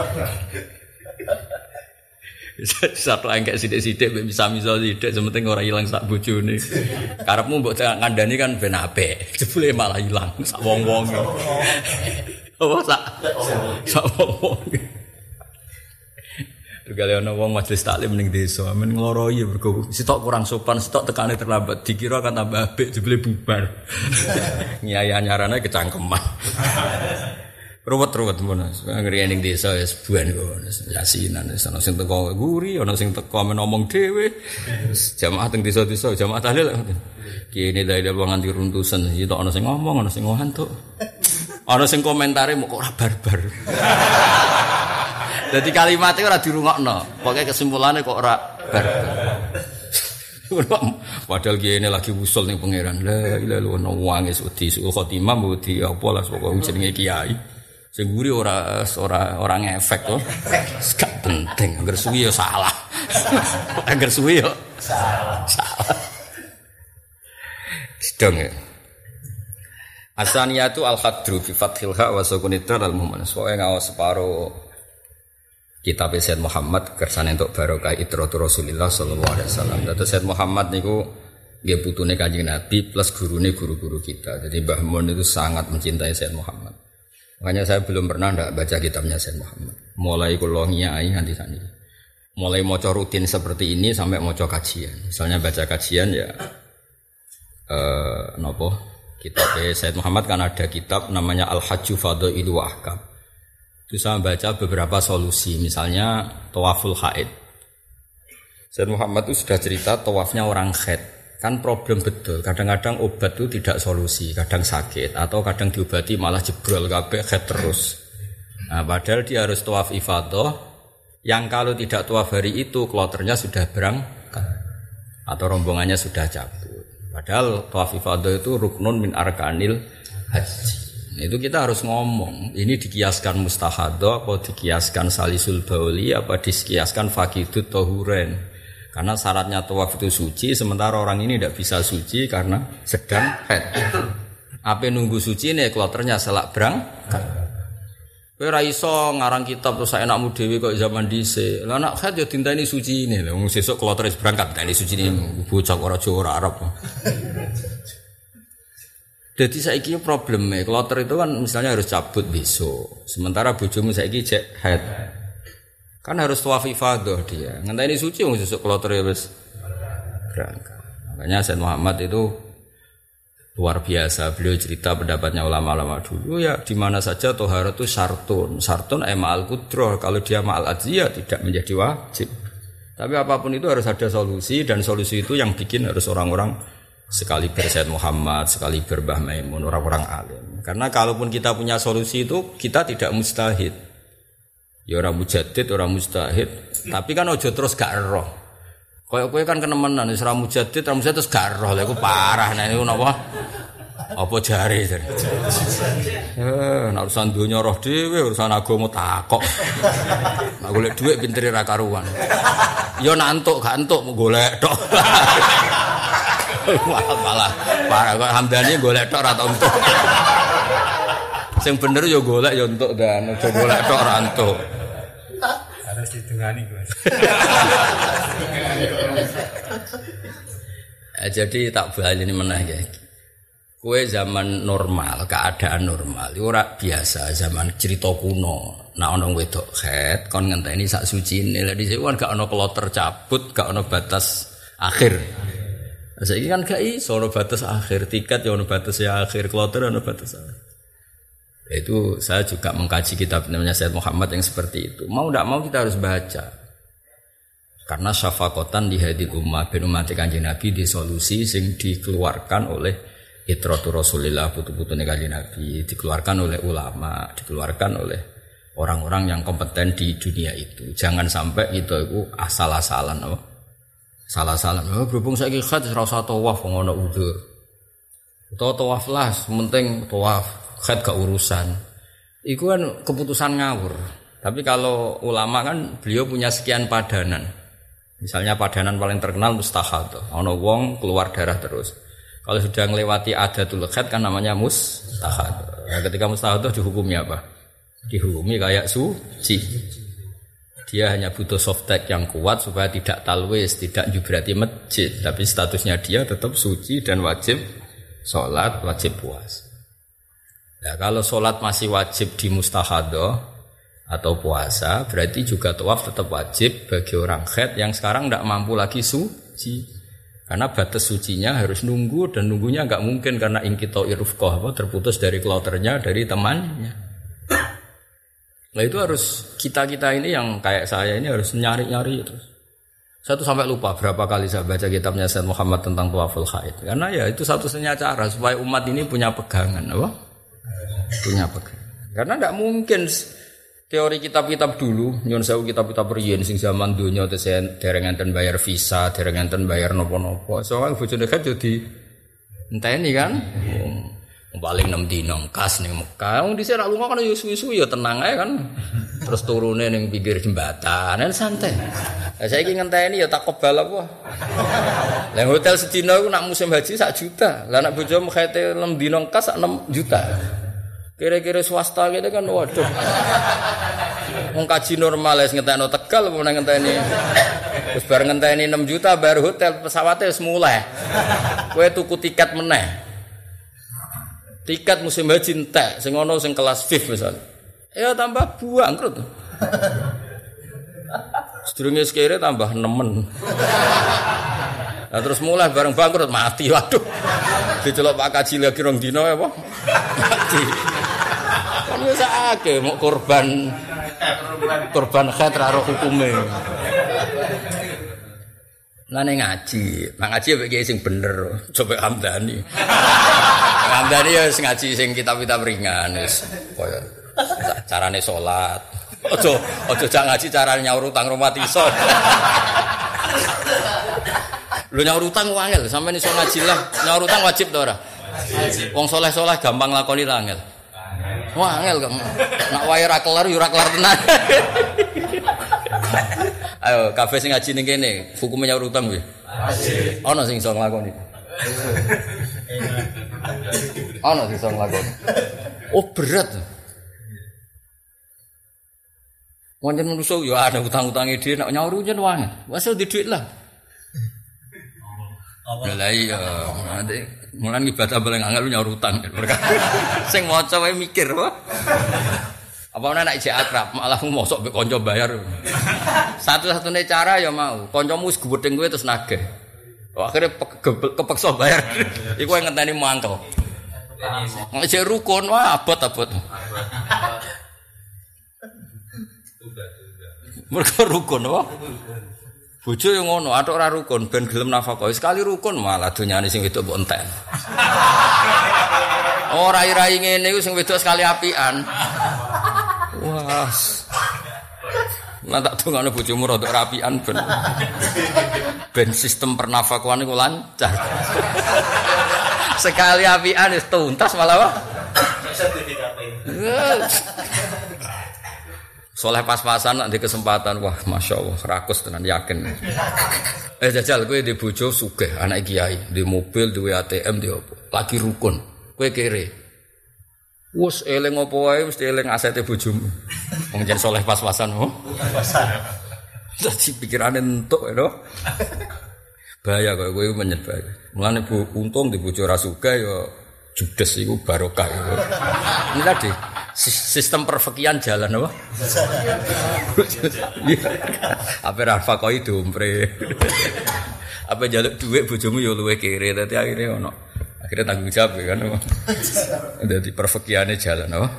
A: Satu engkek sithik-sithik mbek bisa-bisa sithik sementing ora ilang sak bojone. Karepmu mbok kandhani kan ben apik. Jebule malah ilang sak wong-wong. Apa sak sak wong-wong. Regale ana wong majelis taklim ning desa, men ngloroi mergo sitok kurang sopan, sitok tekane terlambat, dikira kan tambah apik jebule bubar. Nyai anyarane kecangkeman. Ruwet-ruwet ngono. Ngriyen ning desa ya sebuan kok yasinan ana sing teko guri, ana sing teko men ngomong dhewe. Jamaah teng desa-desa, jamaah tahlil. Kene dalil wong nganti runtusan, sitok ana sing ngomong, ana sing ngantuk. Ana sing komentare mok ora barbar. Jadi kalimatnya ora dirungokno. Pokoke kesimpulannya kok ora barbar. Padahal kene lagi usul ning pangeran. La ilaha illallah wangis wedi suul khotimah wedi apa lah pokoke jenenge kiai. Sing guri ora ora ora ngefek to. Gak penting, angger suwi ya salah. Angger suwi ya salah. Salah. Sedang ya. Asaniyatu al-khadru fi fathil ha wa sukunitra al-mu'min. Soale ngaos separo kitab Sayyid Muhammad kersane untuk barokah itratur Rasulullah sallallahu alaihi wasallam. Dados Sayyid Muhammad niku nggih putune Kanjeng Nabi plus gurune guru-guru kita. Jadi Mbah Mun itu sangat mencintai Sayyid Muhammad. Makanya saya belum pernah ndak baca kitabnya Sayyid Muhammad. Mulai kula ngiyai nganti saniki. Mulai maca rutin seperti ini sampai maca kajian. Misalnya baca kajian ya eh napa? Kitab Sayyid Muhammad kan ada kitab namanya Al-Hajju Fadhailu wa Ahkam. Itu saya baca beberapa solusi, misalnya tawaful haid. Sayyid Muhammad itu sudah cerita tawafnya orang haid. Kan problem betul, kadang-kadang obat itu tidak solusi, kadang sakit atau kadang diobati malah jebrol kabeh haid terus. Nah, padahal dia harus tawaf ifadah yang kalau tidak tawaf hari itu kloternya sudah berangkat atau rombongannya sudah cabut. Padahal tawaf ifadah itu ruknun min arkanil haji. Nah, itu kita harus ngomong, ini dikiaskan mustahadah apa dikiaskan salisul bauli apa dikiaskan fakidut tahuren. Karena syaratnya tawaf itu suci, sementara orang ini tidak bisa suci karena sedang haid. Apa nunggu suci nih kloternya selak berangkat. Kowe ra iso ngarang kitab terus enakmu dhewe kok zaman dhisik. Lah nek haid ya dinteni suci ini. Lah wong sesuk kloter wis berangkat dinteni suci ini bocah ora Jawa ora Arab. Jadi saiki probleme kloter itu kan misalnya harus cabut besok. Sementara bojomu saiki cek haid. Kan harus tawaf ifadah dia. Ngenteni suci wong sesuk kloter ya wis berangkat. Makanya Sayyid Muhammad itu luar biasa. Beliau cerita pendapatnya ulama-ulama dulu ya di mana saja tohara itu syartun. Syartun ay ma'al qudrah. Kalau dia ma'al ajziyah tidak menjadi wajib. Tapi apapun itu harus ada solusi dan solusi itu yang bikin harus orang-orang sekali Sayyid Muhammad, sekali Mbah Maimun, orang-orang alim. Karena kalaupun kita punya solusi itu kita tidak mustahid. Ya orang mujaddid, orang mustahid. Tapi kan ojo terus gak roh. Kayak kowe kan kenemenan wis ora mujaddid, ora mustahid terus gak roh. Lha iku parah nek niku napa? Apa jare jare. Eh, nek urusan donya roh dhewe, urusan agama takok. Nek golek dhuwit pintere ra karuan. Ya nek entuk gak entuk golek tok. Malah malah parah kok Hamdani golek tok ora tau entuk. Sing bener ya golek ya entuk dan aja golek tok ora entuk.
B: Harus ditungani, Mas.
A: eh, jadi tak bali ini meneh ya. Kowe zaman normal, keadaan normal, ora biasa zaman cerita kuno. Nek ana wedok haid kon ngenteni sak sucine. Lah dhisik kan gak ana kloter cabut, gak ana batas akhir. Saiki kan gak iso ana batas akhir, tiket ya ana batas ya akhir, kloter ana batas akhir. Itu saya juga mengkaji kitab namanya Sayyid Muhammad yang seperti itu. Mau tidak mau kita harus baca. Karena syafaqatan di hadil ummah bin ummati Kanjeng Nabi di solusi sing dikeluarkan oleh itratur Rasulillah putu-putune Kanjeng Nabi, dikeluarkan oleh ulama, dikeluarkan oleh orang-orang yang kompeten di dunia itu. Jangan sampai kita itu asal-asalan apa? Salah-salan. Oh, berhubung saiki khat ora usah tawaf ngono udzur. Utawa tawaf lah, penting tawaf. Khat gak urusan. Itu kan keputusan ngawur. Tapi kalau ulama kan beliau punya sekian padanan. Misalnya padanan paling terkenal mustahadah. Ono wong keluar darah terus. Kalau sudah melewati adatul khat kan namanya mustahadah. Nah, ketika mustahadah dihukumi apa? Dihukumi kayak suci. Dia hanya butuh softtek yang kuat supaya tidak talwis, tidak jubrati masjid. Tapi statusnya dia tetap suci dan wajib sholat, wajib puasa. Ya, kalau sholat masih wajib di mustahadah atau puasa, berarti juga tawaf tetap wajib bagi orang haid yang sekarang tidak mampu lagi suci. Karena batas sucinya harus nunggu dan nunggunya nggak mungkin karena ingkito irufkoh apa terputus dari kloternya dari temannya. Nah itu harus kita kita ini yang kayak saya ini harus nyari nyari terus. Saya tuh sampai lupa berapa kali saya baca kitabnya Sayyid Muhammad tentang tawaful haid. Karena ya itu satu-satunya cara supaya umat ini punya pegangan, apa? Punya pegangan. Karena tidak mungkin teori kitab-kitab dulu, nyon sewu kitab-kitab riyen sing zaman donya terus dereng enten bayar visa, dereng enten bayar napa-napa. Soale bojone kan jadi enteni kan. Wong paling enam dina kas ning Mekah. Wong dhisik ra lunga kan yo suwi-suwi yo tenang ae kan. Terus turune ning pinggir jembatan, kan santai. Lah saiki ngenteni ya tak kebal apa. Lah hotel sedina iku nak musim haji sak juta. Lah nak bojomu khete enam dina kas sak enam juta. Kira-kira swasta gitu kan waduh. Wong kaji normal wis ngentekno Tegal apa nang ngenteni. Wis bar ngenteni enam juta bar hotel pesawate wis mulai. Kowe tuku tiket meneh. Tiket musim haji entek sing ono sing kelas V I I misalnya. Ya tambah buang krut. Sedurunge sekere tambah nemen. Nah, terus mulai bareng bangkrut mati. Waduh. Dicelok Pak Kaji lagi rong dino apa? Mati. Kan wis akeh mau korban korban khat ra ro hukume. Lane ngaji, nang ngaji mek kiye sing bener, coba Hamdani. Hamdani ya sing ngaji sing kitab-kitab ringan wis koyo carane salat. Aja aja jak ngaji carane nyaur utang rumah iso. Lho nyaur utang wangel, sampeyan iso ngaji lah. Nyaur utang wajib ta ora? Wajib. Wong saleh-saleh gampang lakoni lah angel. Wah angel kok. Nak wae ra kelar yo ora kelar tenan. Ayo kabeh sing ngaji ning kene, hukume nyaur utang kuwi. Wajib. Ana sing iso nglakoni. Ana sing iso nglakoni. Oh berat. Wonten manusa yo ana utang-utange dhewe nek nyaur yen wangel. Wes di dhuwit lah. Lah iya, nanti mulan ibadah paling angel nyaur utang. Sing maca wae mikir apa? Apa ana nek isih akrab, malah mosok mbek kanca bayar. Satu-satunya cara ya mau, kancamu wis gedeng kowe terus nagih. Akhire kepeksa bayar. Iku yang ngenteni mangkel. Ngejek rukun wah abot-abot. Mergo rukun apa? Bojo yo ngono, atok ora rukun ben gelem nafkah. Sekali rukun malah donyane sing wedok mbok entek. Oh rai-rai ngene iku sing wedok sekali apian. Wah. Lah tak dongane bojomu rada rapian ben. Ben sistem pernafkahan iku lancar. Sekali apian wis tuntas malah wae. Soleh pas-pasan nek di kesempatan wah Masya Allah rakus tenan yakin. Eh jajal kowe di bojo sugih anak kiai, di mobil, di A T M, di opo. Lagi rukun. Kowe kere. Wes eling opo wae mesti eling asete bojomu. Wong jen soleh pas-pasan oh. Pas-pasan. Dadi pikirane entuk lho. Bahaya kok kowe menyet bahaya. Mulane bu untung di bojo ra sugih ya judes iku barokah iku. Ini tadi sistem perfikian jalan apa? Apa rafa kau itu umpre? Apa jaluk duit bojomu yo luwe kere dadi akhire ono. Akhire tanggung jawab kan. Dadi perfikiane jalan apa?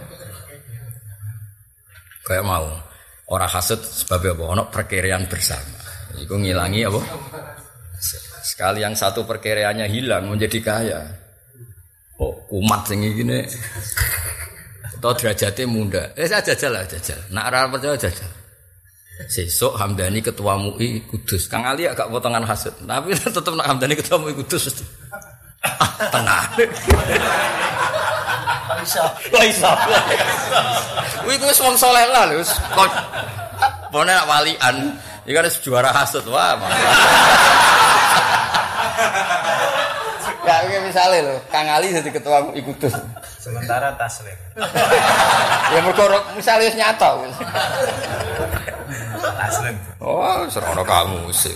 A: Kayak mau ora hasud sebab apa? Ono perkiraan bersama. Iku ngilangi apa? Sekali yang satu perkiraannya hilang menjadi kaya. Oh, kumat sing iki ne. Atau derajatnya munda. Eh saya jajal lah jajal. Nak ora percaya jajal. Sesuk Hamdani ketua M U I Kudus. Kang Ali agak potongan hasud. Tapi tetep nak Hamdani ketua M U I Kudus. Ah, tenang. Bisa. Bisa. Kuwi wis wong saleh lah lho. Pone nak walian. Iki kan juara hasud. Wah. Ya misalnya lho, Kang Ali jadi ketua M U I Kudus.
B: Sementara taslim.
A: Ya mergo misale wis nyata.
B: Taslim.
A: Oh, serono kamu sih.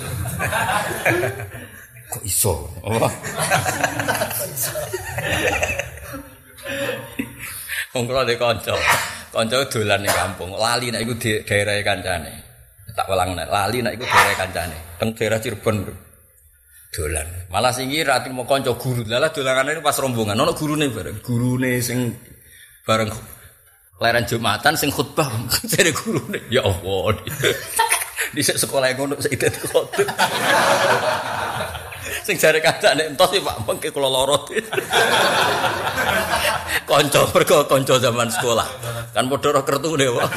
A: Kok iso? Oh. Wong kula de kanca. Kanca dolan ning kampung, lali nek iku di daerah kancane. Tak welang nek lali nek iku daerah kancane. Teng daerah Cirebon. Dolan. Malah sing iki ra trimo kanca guru. Lah dolanane pas rombongan ana gurune bareng. Gurune sing bareng leren Jumatan sing khutbah jare gurune. Ya Allah. Dhisik sekolah ngono sik dadi khotbah. Sing jare kancane entos Pak mengke kula lara. Kanca mergo kanca zaman sekolah. Kan padha ro kertune wae.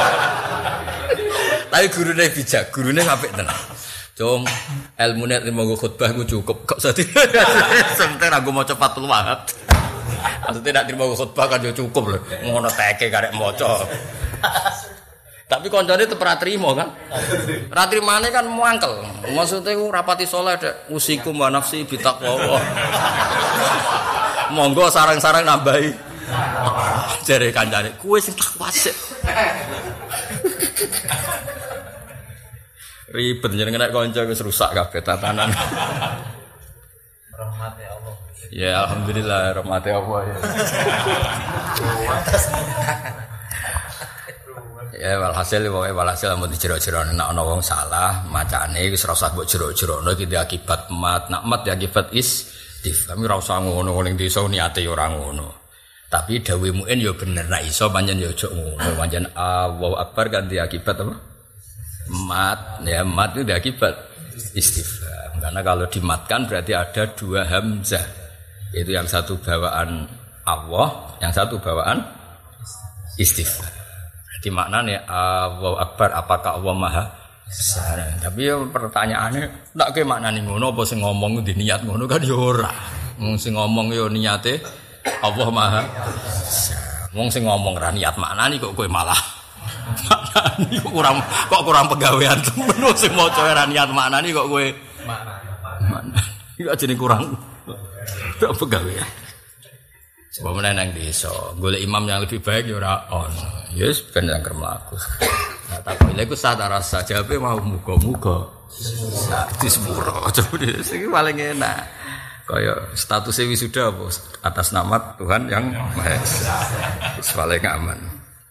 A: Tapi gurune bijak, gurune apik tenan. Cung, ilmune nek monggo khutbah ku cukup kok sate. Sementara aku maca Fathul Wahab. Maksudnya nek monggo khutbah kan yo cukup lho. Ngono teke karek maca. Tapi kancane tetep ora trimo kan. Ora trimane kan muangkel. Maksudnya ku rapati saleh dek usikum wa nafsi bitaqwa. Monggo sarang-sarang nambahi. Jare kancane, kuwe sing takwa sik. Ribet jenenge nek kanca wis rusak kabeh tatanan.
B: Rahmate Allah.
A: Ya alhamdulillah rahmate Allah ya. Ya walhasil pokoke walhasil amun dijero-jero nek ana wong salah macane wis ora usah mbok jero-jerono iki akibat mat nak mat ya akibat istifham ora usah ngono ning desa niate ora ngono. Tapi dawuh muin ya bener nek iso pancen ya aja ngono pancen Allahu Akbar kan akibat apa? Mat ya mat itu akibat istifham. Karena kalau dimatkan berarti ada dua hamzah. Itu yang satu bawaan Allah, yang satu bawaan istifham. Di maknanya Allahu Akbar apakah Allah Maha Besar. Tapi ya pertanyaannya tak ke maknane ngono apa sing ngomong di niat ngono kan ya ora. Wong sing ngomong ya niate Allah Maha Besar. Wong sing ngomong ra niat maknane kok kowe malah maknane kok kurang kok kurang pegawean temen sing maca ra niat maknane kok kowe maknane. Iku ajene kurang pegawean. Sebab mana nang desa, golek imam yang lebih baik ya ora ono. Yes, ben yang kermlaku. Nah, tak kok iku sadar rasa jawabe mau muga-muga. Sak disepuro. Coba iki paling enak. Kaya statusnya wisuda apa atas nama Tuhan yang Maha Esa. Wis paling aman.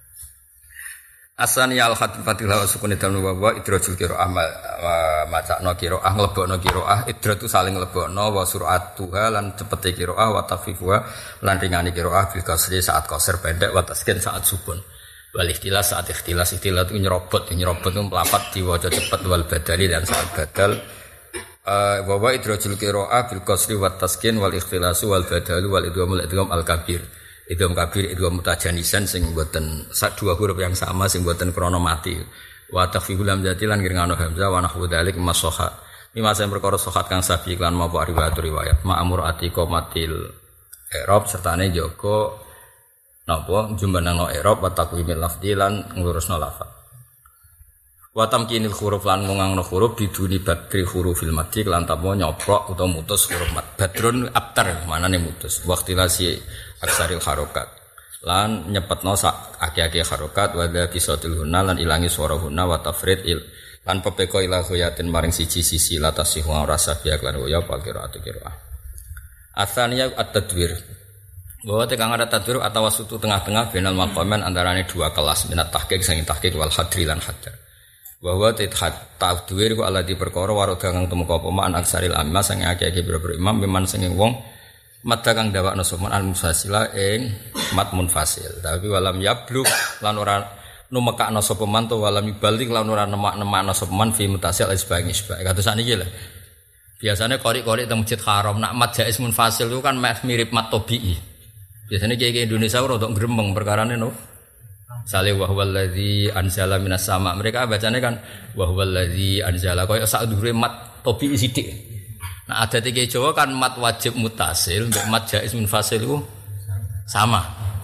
A: Asani al-hatifatil wa sukun dalam wa idrajul qiraah macakno qiraah nglebokno qiraah idrat itu saling nglebokno wa sur'atuha lan cepete qiraah wa tafifuha lan ringani qiraah bil kasri saat qasar pendek wa taskin saat sukun wal ikhtilas saat ikhtilas ikhtilas itu nyerobot nyerobot itu melapat diwaca cepet wal badali dan saat badal wa wa idrajul qiraah bil kasri wa taskin wal ikhtilas wal badalu wal idgham idgham al kabir idgham kabir idgham mutajanisan sing mboten sak dua huruf yang sama sing mboten krana mati wa takhfiful hamzati lan ngirngano hamzah wa nahwu dzalik masoha mimma sing perkara sohat kang sabi lan mawa riwayat riwayat ma'amur atiqa matil i'rab sertane jaga napa jumbanano i'rab wa taqwimil lafzi lan ngurusno lafaz wa tamkinil huruf lan ngangno huruf biduni badri hurufil madhi lan tampo nyoprok utawa mutus huruf mad badrun abtar manane mutus waqtilasi aksaril harokat lan nyepetno sak aki-aki harokat wa dha bisatil hunna lan ilangi swara hunna wa tafrid il lan pepeko ila ghayatin maring siji sisi latasi wa rasa biak lan ya pakira atikira asaniya at-tadwir bahwa tekang ada tadwir atau wasutu tengah-tengah benal maqaman antarane dua kelas minat tahqiq sing tahqiq wal hadri lan hadar bahwa tadwir ku ala di perkara waroda kang tumeka apa man aksaril amma sing aki-aki boro-boro imam memang sing wong mat kang dawakna sopan al musasila ing mat munfasil tapi walam yablug lan ora numekakna sapa man to walam ibalik lan ora nemak-nemakna sapa man fi mutasil isbang isbang kados saniki lho biasane qori-qori teng Masjid Haram nak mat jaiz munfasil itu kan mirip mat tabii biasane kiai Indonesia ora ndok gremeng perkarane no sale wa huwallazi anzala minas sama mereka bacane kan wa huwallazi anzala koyo sak dhuwure mat tabii sithik. Nah ada tiga Jawa kan mat wajib mutasil, untuk mat jaiz munfasil itu sama.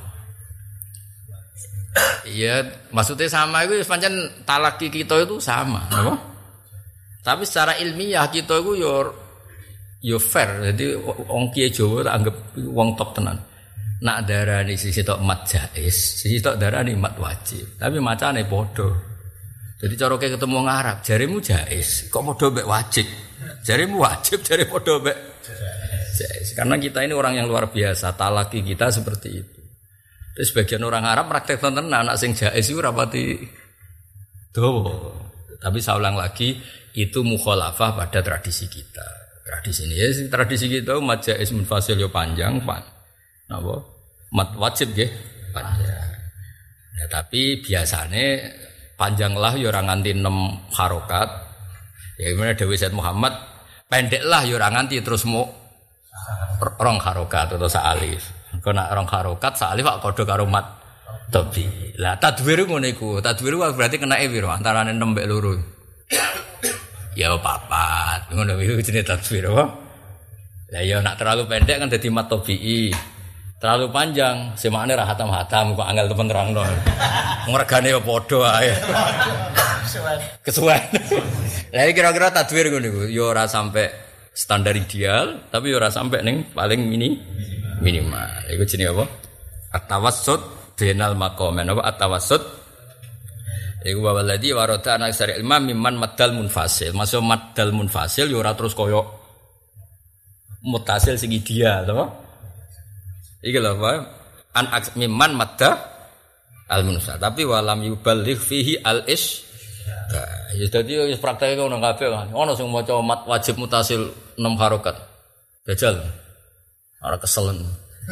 A: Iya, maksudnya sama itu pancen talaki kita itu sama, apa? Tapi secara ilmiah kita itu yo yo fair, jadi wong kiai Jawa tak anggap wong top tenan. Nak darani sisi tok mat jaiz, sisi tok darani mat wajib. Tapi macane padha. Jadi cara ketemu wong Arab, jarimu jaiz, kok padha mek wajib. Jarimu wajib, jari padha mek jaiz. Karena kita ini orang yang luar biasa, talaki kita seperti itu. Terus sebagian orang Arab praktek tenan anak sing jaiz iku rapati dawa. Tapi saya ulang lagi, itu mukhalafah pada tradisi kita. Tradisi ini ya, tradisi kita mat jaiz munfasil yo panjang, pan. Napa? Mat wajib nggih panjang. Ya tapi biasane panjanglah ya ora nganti enam harokat. Ya gimana Dewi Said Muhammad pendeklah ya ora nganti terus mu rong harokat atau sa'alif. Engko nak rong harokat sa'alif kok padha karo mat tabi. Lah tadwir ngono iku. Tadwir berarti kenake piro antarane enam mek loro. Ya papat. Ngono iku jenenge tadwir apa? Lah ya nak terlalu pendek kan dadi mat tabii. Terlalu panjang, semakne ra hatam-hatam kok angel temen nerangno. Ngregane ya padha ae. Kesuwen. Lah kira-kira tadwir ngono iku, ya ora sampai standar ideal, tapi ya ora sampai ning paling mini minimal. Iku jenenge apa? At-tawassut bainal maqaman apa at-tawassut. Iku waladhi warada anak syari ilmam mimman maddal munfasil. Masuk maddal munfasil ya ora terus koyo mutasil sing ideal, apa? Iki lho Pak, an mimman madda al-munsal. Tapi walam yuballigh fihi al-ish. Nah, ya dadi wis prakteke ngono kabeh kan. Ono sing maca mat wajib mutasil enam harokat. Dajal. Ora keselen.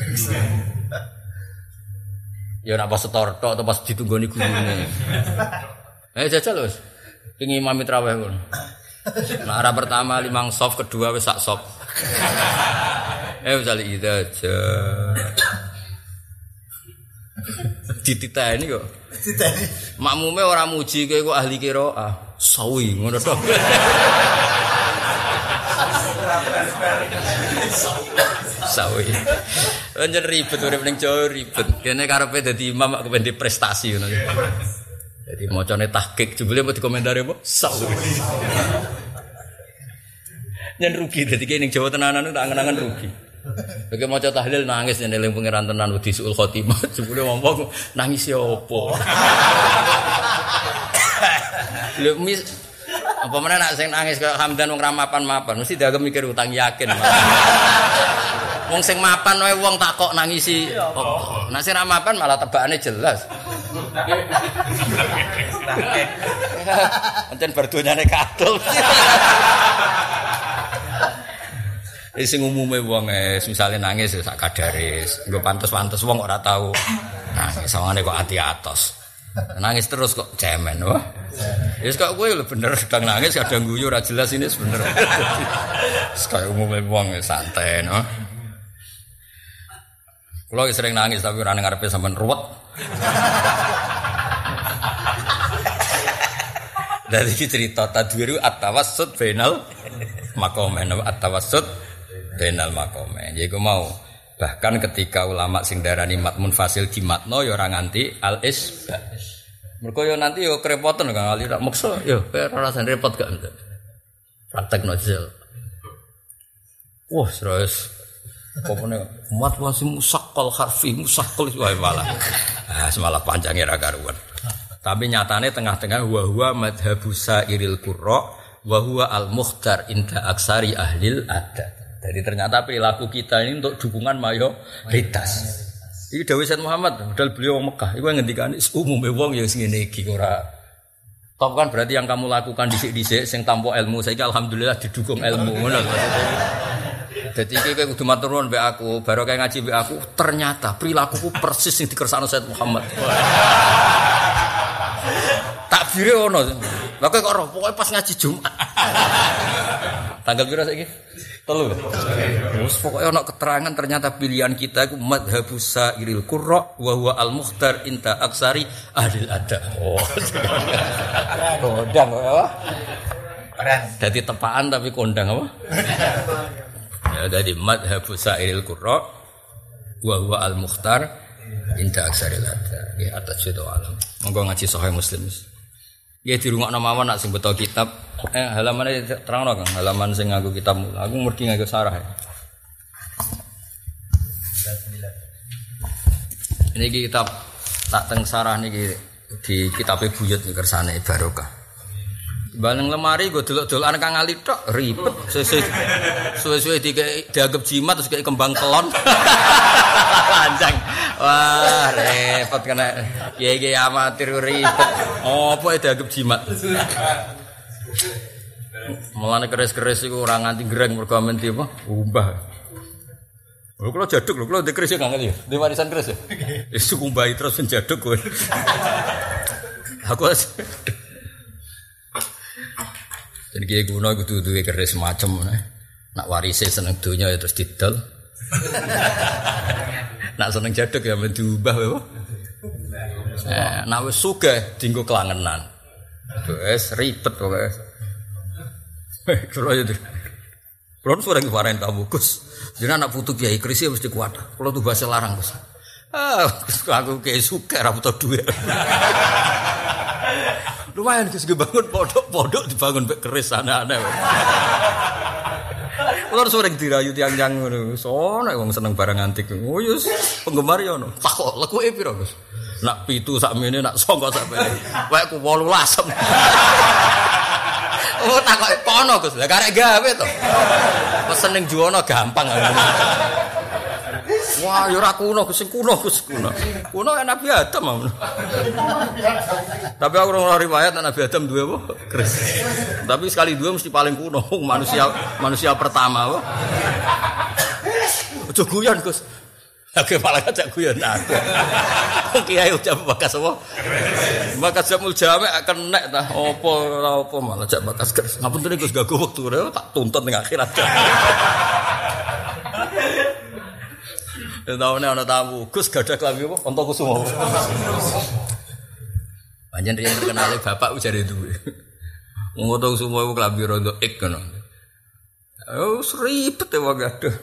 A: Ya ora pas setor tok atau pas ditunggoni gurune. Eh jajal wis. Ping imam traweh ngono. Nah, arah pertama limang soft, kedua wis sak soft. Eh wis ali ida aja. Dititeni kok. Dititeni. Makmume ora muji kowe kok ahli qiraah. Sawi ngono tok. Sawi. Anjen ribet urip ning Jawa ribet. Kene karepe dadi imam kok kepen prestasi ngono. Dadi macane tahqiq jebule mau dikomentari apa? Sawi. Nyen rugi dadi kene ning Jawa tenanan tak angen-angen rugi. Bagi maca tahlil nangis yen eling pangeran tenan wedi suul khotimah. Jebule wong-wong nangis ya apa? Lho mis apa meneh nek sing nangis kaya Hamdan wong ra mapan-mapan mesti dianggap mikir utang yakin. Wong sing mapan wae wong tak kok nangisi apa? Nek sing ra mapan malah tebakane jelas. Pancen berdonyane katul. Wis sing umume wong es misale nangis sak kadare, nggo pantes-pantes wong ora tau nangis sawangane kok ati atos. Nangis terus kok cemen wah. Wis kok kowe lho bener sedang nangis kadang guyu ora jelas ini bener. Wis kaya umume wong santai no. Kulo sering nangis tapi ora ngarepe sampean ruwet. Dari cerita tadwiru at-tawassut bainal maqamain at-tawassut bainal maqamain. Jadi mau bahkan ketika ulama sing darani mat munfasil di matno ya ora nganti al-isba. Mergo yo nanti yo kerepotan Kang Ali tak maksa yo ora rasane repot gak. Praktekno jel. Wah, terus popone mat wasi musaqqal harfi musaqqal wae malah. Ah, semalah panjangnya ra karuan. Tapi nyatane tengah-tengah wa huwa madhabu sairil qurra wa huwa al-mukhtar inda aksari ahlil adat. Jadi ternyata perilaku kita ini untuk dukungan mayoritas. Iki dawuh Sayyid Muhammad, padahal beliau wong Mekah. Iku ngendikane umume wong ya sing ngene iki ora. Top kan berarti yang kamu lakukan dhisik-dhisik sing tanpa ilmu saiki alhamdulillah didukung ilmu ngono lho. Dadi iki kowe kudu matur nuwun mbek aku, baru kayak ngaji mbek aku, ternyata perilakuku persis sing dikersakno Sayyid Muhammad. Takbire ono. Lah kok ora pokoke pas ngaji Jumat. Tanggal piro saiki? Telu. Terus pokoke ono keterangan ternyata pilihan kita iku madhabus sairil qurra wa huwa al-mukhtar inta aksari ahlil adab. Oh. Kondang apa? Keren. Dadi tepaan tapi kondang apa? Ya dadi madhabus sairil qurra wa huwa al-mukhtar inta aksari adab. Ya atas itu alam. Monggo ngaji Sahih Muslim. Ya di rumah nama nak sing betul kitab. Eh halamannya terang no, Kang. Halaman sing nganggo kitab. Aku mergi nganggo sarah. Ya. Ini kitab tak teng sarah niki di kitabe buyut nih kersane barokah. Baleng lemari gue delok-delokan Kang Ali tok ribet. Suwe-suwe dianggap jimat terus kayak kembang kelon. Panjang. Wah, repot kena kiai-kiai amatir ribet. Oh, apa dianggap jimat? Mulane keris-keris iku ora nganti greng mergo menti apa? Umbah. Lho kula jaduk lho, kula ndek keris Kang Ali. Di warisan keris ya. Wis kumbahi terus penjaduk kowe. Aku jadi kiai kuno kudu duwe keris macem nak warise seneng donya ya terus didol. Nak seneng jaduk ya men diubah wae. Eh, nak wis sugih dienggo klangenan. Wis ribet pokoke. Kulo ya. Kulo sering kemarin tamu Gus. Jenengan anak putu kiai keris mesti kuat. Kulo tuh bahasa larang Gus. Ah, aku kiai sugih ra butuh duit. Lumayan Gus bangun pondok-pondok dibangun mek keris aneh-aneh. Kulo sering dirayu tiang-tiang ngono. Sono wong seneng barang antik. Oh yes, penggemar ya ono. Takok lekuke piro Gus? Nak pitu sakmene nak sangka sakmene. Wae ku wolu lasem. Oh takok kono Gus. Lah karek gawe to. Pesen ning Juwono gampang. Wah, ya ora kuno, sing kuno Gus kuno. Kuno kan Nabi Adam mau. Tapi aku ora riwayat Nabi Adam duwe apa? Keris. Tapi sekali dua mesti paling kuno manusia manusia pertama apa? Ojo guyon Gus. Oke malah ajak guyon aku. Kiai ucap bakas apa? Bakas jamul jame akan nek tah apa ora apa malah ajak bakas keris. Ngapunten Gus gagu wektu tak tuntut ning akhirat. Taune ana tamu, Gus gadah klambi apa? Antakusuma. Panjen riyen terkenal bapak ujare duwe. Wong Antakusuma iku klambi rondo ek ngono. Oh, ribet e wong gadah.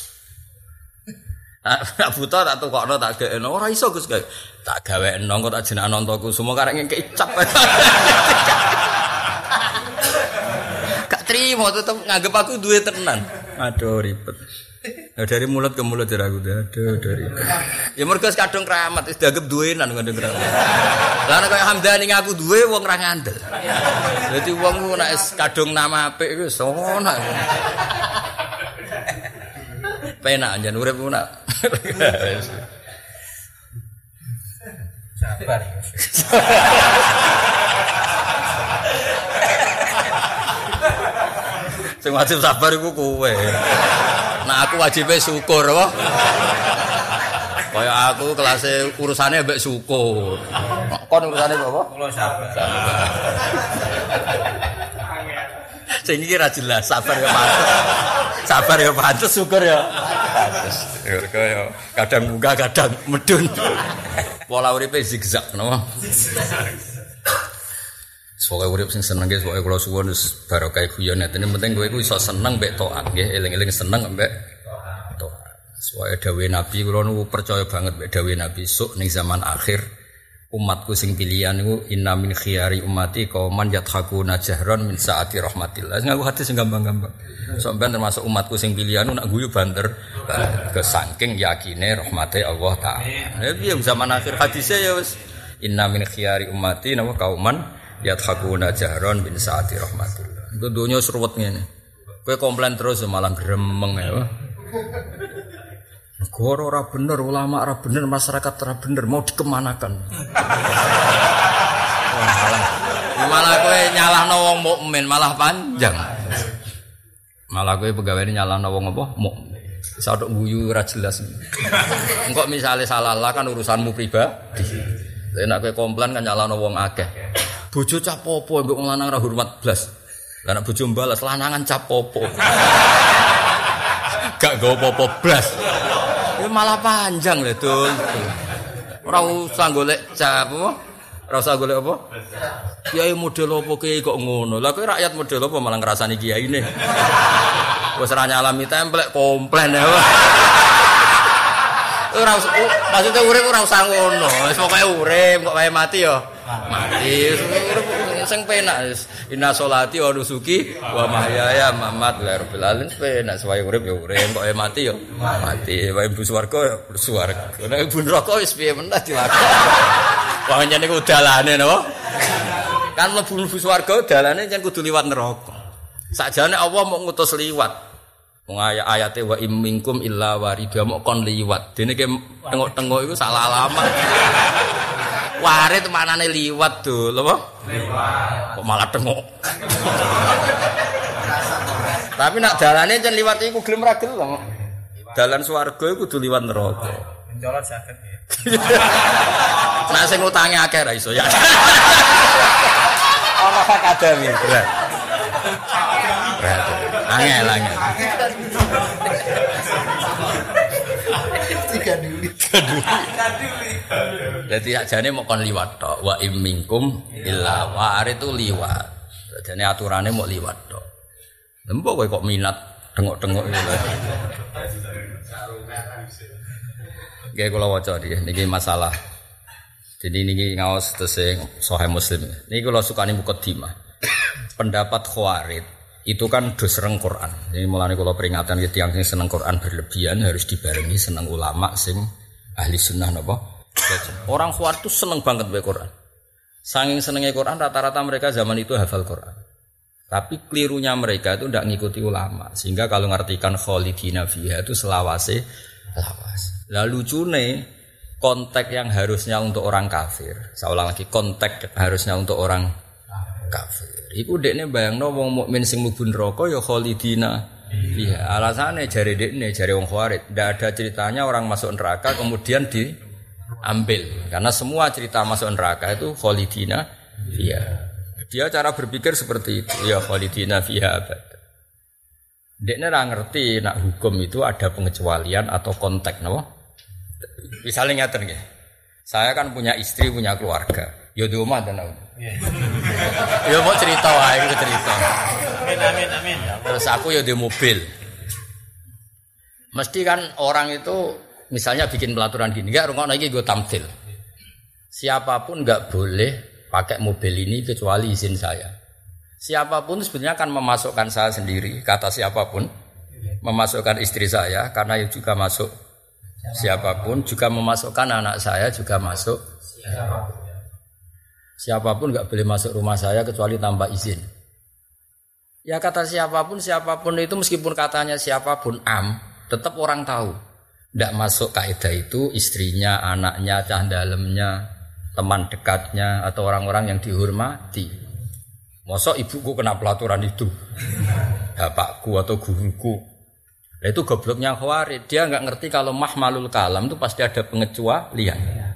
A: Nak buta tak tukokno tak gekno. Ora iso Gus gawe. Tak gawekno kok tak jenengan Antakusuma karek ngekek cap. Gak trimo tetep nganggep aku duwe tenan. Aduh ribet. Ya dari mulut ke mulut dari aku dah, dari. Ya mergo kadung keramat, wis dianggap duwenan kadung keramat. Lah nek kaya Hamdani ngaku duwe wong ra ngandel. Dadi wong nek kadung nama apik wis ono. Penak jan urip ku nak.
B: Sabar ya.
A: Sing wajib sabar iku kowe. Nah aku wajibnya syukur apa? Kayak aku kelasnya urusannya mbek syukur. Kon urusannya apa?
B: Kula sabar.
A: Sing iki ra jelas, sabar ya pantes. Sabar ya pantes, syukur ya pantes. Ya kadang munggah, kadang medun. Pola uripe zigzag napa? Pokoke urip sing seneng guys, pokoke kula suwun wis barokah guyon ngene penting kowe iku iso seneng mbek taat nggih, eling-eling seneng mbek taat. Soale dawuh Nabi kula nu percaya banget mbek dawuh Nabi sok ning zaman akhir umatku sing pilihan niku inna min khiyari ummati qauman yadhakuna jahran min saati rahmatillah. Sing aku hadis sing gampang-gampang. Sampeyan termasuk umatku sing pilihan nak guyu banter ke saking yakine rahmate Allah taala. Ya piye zaman akhir hadise ya wis inna min khiyari ummati napa kauman yadhakuna jahron bin saati rahmatillah. Itu dunia seruwet ngene. Kowe komplain terus malah gremeng ya. Negara ora bener, ulama ora bener, masyarakat ora bener, mau dikemanakan. Wah, malah malah kowe nyalahno wong mukmin malah panjang. Malah kowe pegawene nyalahno wong apa? Mukmin. Iso tok guyu ora jelas. Engko misale salah lah kan urusanmu pribadi. Nek kowe komplain kan nyalahno wong akeh. Bojo cap popo mbok wong lanang ra hormat blas. Lah nek bojo balas lanangan cap popo. Gak go popo blas. Ya malah panjang lho, Dul. Ora usah golek cap apa? Ora usah golek apa? Kiai model apa ki kok ngono. Lah kowe rakyat model apa malah ngrasani kiyaine. Wis ra nyalami templek komplain ya. Ora maksudnya urip ora usah ngono. Wis pokoke urip kok wae mati ya. Mati sing penak wis inna sholati wa nusuki wa mahyaya mamat rabbil alamin penak wae urip ya urip kok mati ya mati wae mlebu swarga ya mlebu swarga nek mlebu neraka wis piye meneh dilakoni wah yen niku dalane napa kan mlebu swarga dalane yen kudu liwat neraka sakjane Allah mau ngutus liwat wong ayat-ayate wa imminkum illa warida mok kon liwat dene ki tengok-tengok iku salah alamat. Warit manane liwat Dul, apa? Liwat. Kok malah tengok. Tapi nak dalane jan liwat iku gelem ra gelem. Dalan swarga iku kudu liwat neraka.
B: Mencolot saged ya.
A: Nek sing utange akeh ra iso ya. Ana akademi berat. Berat. Angel angel. Tiga dulu. Jadi ajane mau kon liwat tok. Wa imminkum illa warit itu liwat. Jadi aturannya mau liwat tok. Lembok kowe kok minat tengok-tengok iki. Nggih kula waca iki niki masalah. Jadi niki ngaos tesih Sahih Muslim. Niki kula sukani mukadimah. Pendapat Khawarij itu kan dosereng Quran. Jadi mulane kula peringatan ke tiyang sing seneng Quran berlebihan harus dibarengi seneng ulama sing ahli sunnah napa? Orang Khawarij itu seneng banget baca Quran. Saking senengnya Quran rata-rata mereka zaman itu hafal Quran. Tapi kelirunya mereka itu tidak ngikuti ulama. Sehingga kalau ngartikan khalidina fiha itu selawase lawas. Lah lucune konteks yang harusnya untuk orang kafir. Saya ulang lagi, konteks harusnya untuk orang kafir. Iku dekne bayangno wong mukmin sing mlebu neraka ya khalidina. Iya, alasannya jari dekne, jari wong Khawarij, ndak ada ceritanya orang masuk neraka kemudian diambil. Karena semua cerita masuk neraka itu khalidina. Iya. Dia cara berpikir seperti itu. Ya khalidina fiha abad. Dekne ora ngerti nak hukum itu ada pengecualian atau konteks, napa? Misalnya ngaten nggih. Saya kan punya istri, punya keluarga. Ya di omah dan aku. Ya mau cerita wae iku cerita. Amin amin amin. Terus aku ya di mobil. Mesti kan orang itu misalnya bikin pelaturan gini, enggak rungokno iki nggo tamthil. Siapapun enggak boleh pakai mobil ini kecuali izin saya. Siapapun sebenarnya akan memasukkan saya sendiri, kata siapapun memasukkan istri saya karena juga masuk siapapun, juga memasukkan anak saya juga masuk siapapun. Siapapun enggak boleh masuk rumah saya kecuali tanpa izin. Ya kata siapapun, siapapun itu meskipun katanya siapapun am, tetap orang tahu. Tidak masuk kaidah itu istrinya, anaknya, cah dalemnya, teman dekatnya atau orang-orang yang dihormati. Mosok ibuku kena pelaturan itu, bapakku atau guruku. Nah, itu gobloknya Khawarij. Dia nggak ngerti kalau mahmalul kalam itu pasti ada pengecualian.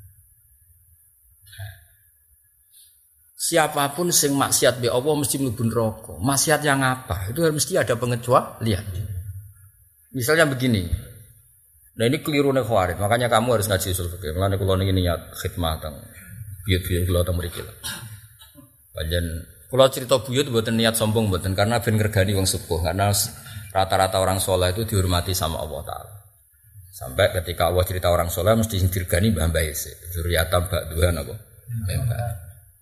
A: Siapapun sing maksiat be Allah mesti mlebu neraka. Maksiat yang apa? Itu mesti ada pengecualian. Misalnya begini. Nah ini keliru nek Khawarij. Makanya kamu harus ngaji usul fikih. Mulane kula niki niat khidmah teng buyut-buyut kula teng mriki lho. Panjen kula cerita buyut mboten niat sombong mboten karena ben ngregani wong sepuh. Karena rata-rata orang saleh itu dihormati sama Allah taala. Sampai ketika Allah cerita orang saleh mesti sing dirgani mbah mbah ese. Zuriatam ba'duhan apa? Mbah.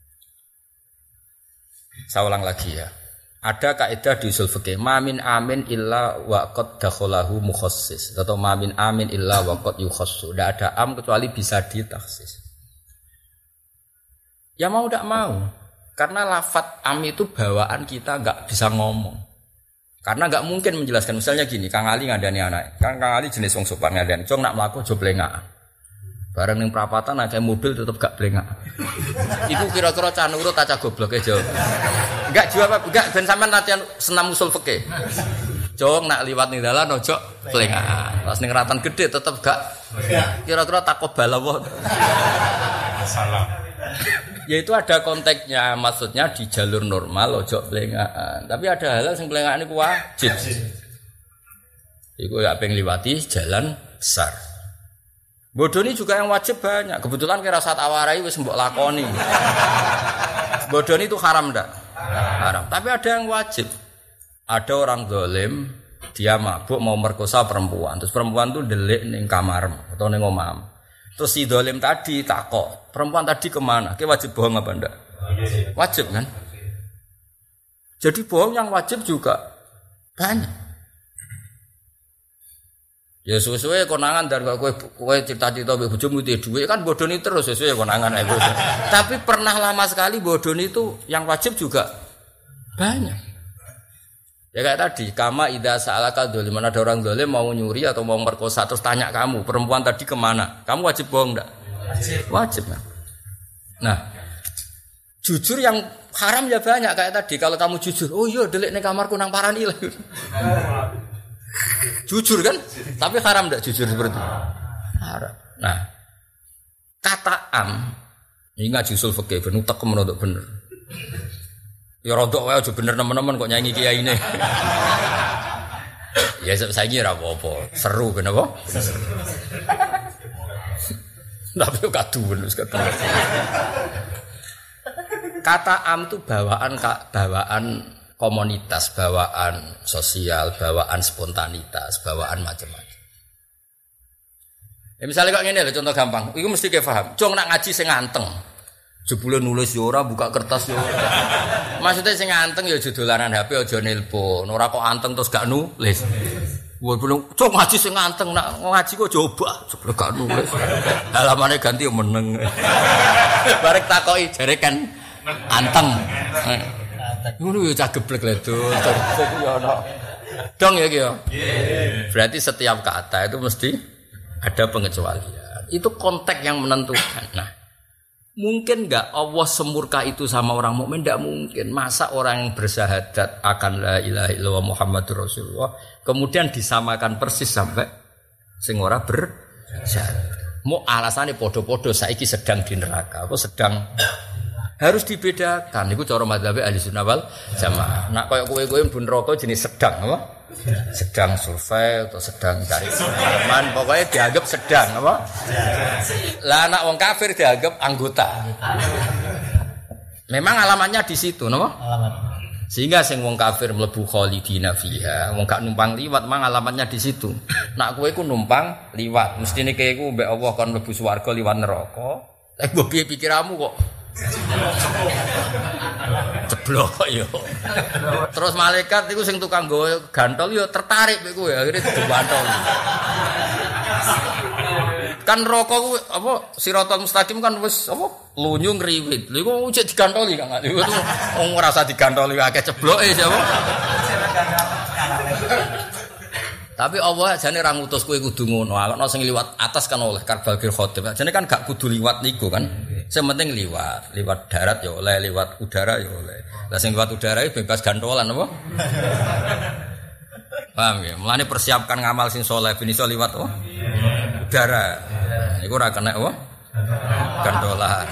A: Saya ulang lagi ya. Ada kaidah di usul fikih, ma min amin illa wa qad dakhalahu mukhassis atau ma min amin illa wa qad yukhassu. Tidak ada am kecuali bisa ditaksis. Ya mau tidak mau. Karena lafadz am itu bawaan kita enggak bisa ngomong. Karena enggak mungkin menjelaskan. Misalnya gini, Kang Ali ngandani anak. Kan Kang Ali jenis wong sopan ngandani. Cung nak mlaku aja blengakan. Bareng ning perapatan akeh mobil tetep gak blengak. Iku kira-kira cah nurut ta cah goblok e jawab. Enggak jawab enggak ben sampean latihan senam usul fikih. Jong nak liwat ning dalan ojo blengak. Pas ning ratan gede tetep gak kira-kira takobal apa. Salam. Ya itu ada konteksnya, maksudnya di jalur normal ojo blengakan. Tapi ada hal sing blengakan iku wajib. Iku ya pengen liwati jalan besar. Bodoh ini juga yang wajib banyak. Kebetulan kira saat awarai wis mbok lakoni. Bodoh ini itu haram ndak? Haram. Tapi ada yang wajib. Ada orang zalim, dia mabuk mau merkosa perempuan. Terus perempuan itu delik ning kamar atau ning omah. Terus si zalim tadi takok, perempuan tadi kemana? Ki wajib bohong apa ndak? Wajib kan? Jadi bohong yang wajib juga banyak. Ya sesuai konangan dan kowe kowe cerita-cerita mbek bojomu itu duwe kan bodoni terus sesuai konangan ae. Tapi pernah lama sekali bodoni itu yang wajib juga banyak. Ya kayak tadi, kama idza sa'alaka dzaliman, mana ada orang zalim mau nyuri atau mau merkosa terus tanya kamu, perempuan tadi kemana? Kamu wajib bohong enggak? Wajib. Wajib kan? Nah, jujur yang haram ya banyak kayak tadi. Kalau kamu jujur, oh iya delik ning kamarku nang parani lah. Jujur kan? Tapi haram enggak jujur seperti itu? Haram. Nah, kata am ini ngaji usul fikih ben utek menurut bener. Ya rodok wae aja bener nemen-nemen kok nyanyi kiai ini. Ya saiki ora apa-apa. Seru ben apa? Tapi yo kaduwen wis kaduwen. Kata am itu bawaan bawaan komunitas, bawaan sosial, bawaan spontanitas, bawaan macam-macam. Ya misalnya kok ngene lho contoh gampang. Iku mesti ke paham. Cung nak ngaji sing nganteng. Jebule nulis yo ora, buka kertas yo ora. Maksudnya sing nganteng ya aja dolanan H P, aja nelpon. Ora kok anteng terus gak nulis. Woi belum, cung ngaji sing nganteng nak ngaji kok coba, jebule gak nulis. Halamane ganti yo meneng. Barek takoki jare kan anteng. Ngono yo cah geblek lho, terus yo ono. Dong ya ki yo. Berarti setiap kata itu mesti ada pengecualian. Itu konteks yang menentukan. Nah, mungkin enggak Allah semurka itu sama orang mukmin? Enggak mungkin. Masa orang yang bersyahadat akan la ilaha illallah Muhammadur Rasulullah kemudian disamakan persis sampai sing ora bersyahadat. Mau alasannya podo-podo saiki sedang di neraka, apa sedang harus dibedakan. Iku cara mazhab Ahlussunnah wal Jamaah. Nak koyo kowe-kowe pun neraka jenis sedang apa? Sedang survei atau sedang cari pengalaman, pokoknya dianggap sedang apa? Lah anak wong kafir dianggap anggota. Memang alamatnya di situ, napa? Alamat. Sehingga sing wong kafir mlebu khalidina fiha, wong gak numpang liwat mang alamatnya di situ. Nak kowe ku numpang liwat, mestine kowe ku mbek Allah kon mlebu swarga liwat neraka. Lah mbok piye pikiranmu kok? Ceblok yo. Terus malaikat iku sing tukang nggawa gantol yo tertarik mek kowe akhire digantol. Kan neraka ku apa Siratal Mustaqim kan wis apa lunyu ngriwit. Lha iku cek digantoli kan. Iku wong ora usah digantoli akeh cebloke sapa. Tapi Allah jane ra ngutus kowe kudu ngono. Ana sing liwat atas kan oleh karbal fil khotim. Jane kan gak kudu liwat niku kan. Sing penting liwat, liwat darat ya oleh, liwat udara ya oleh. Lah sing liwat udara iki bebas gantolan apa? Paham ya? Mulane persiapkan ngamal sing saleh ben iso liwat apa? Udara. Iku ora kena apa? Gantolan.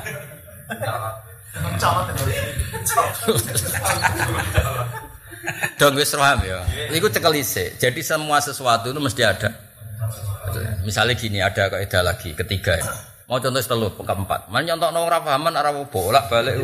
A: Dong wis paham ya. Iku cekel isik. Jadi semua sesuatu itu mesti ada. Misalnya gini, ada kaidah lagi ketiga ya. Mau contoh telu keempat. Man nyontokno ora pahaman ora bolak-balik.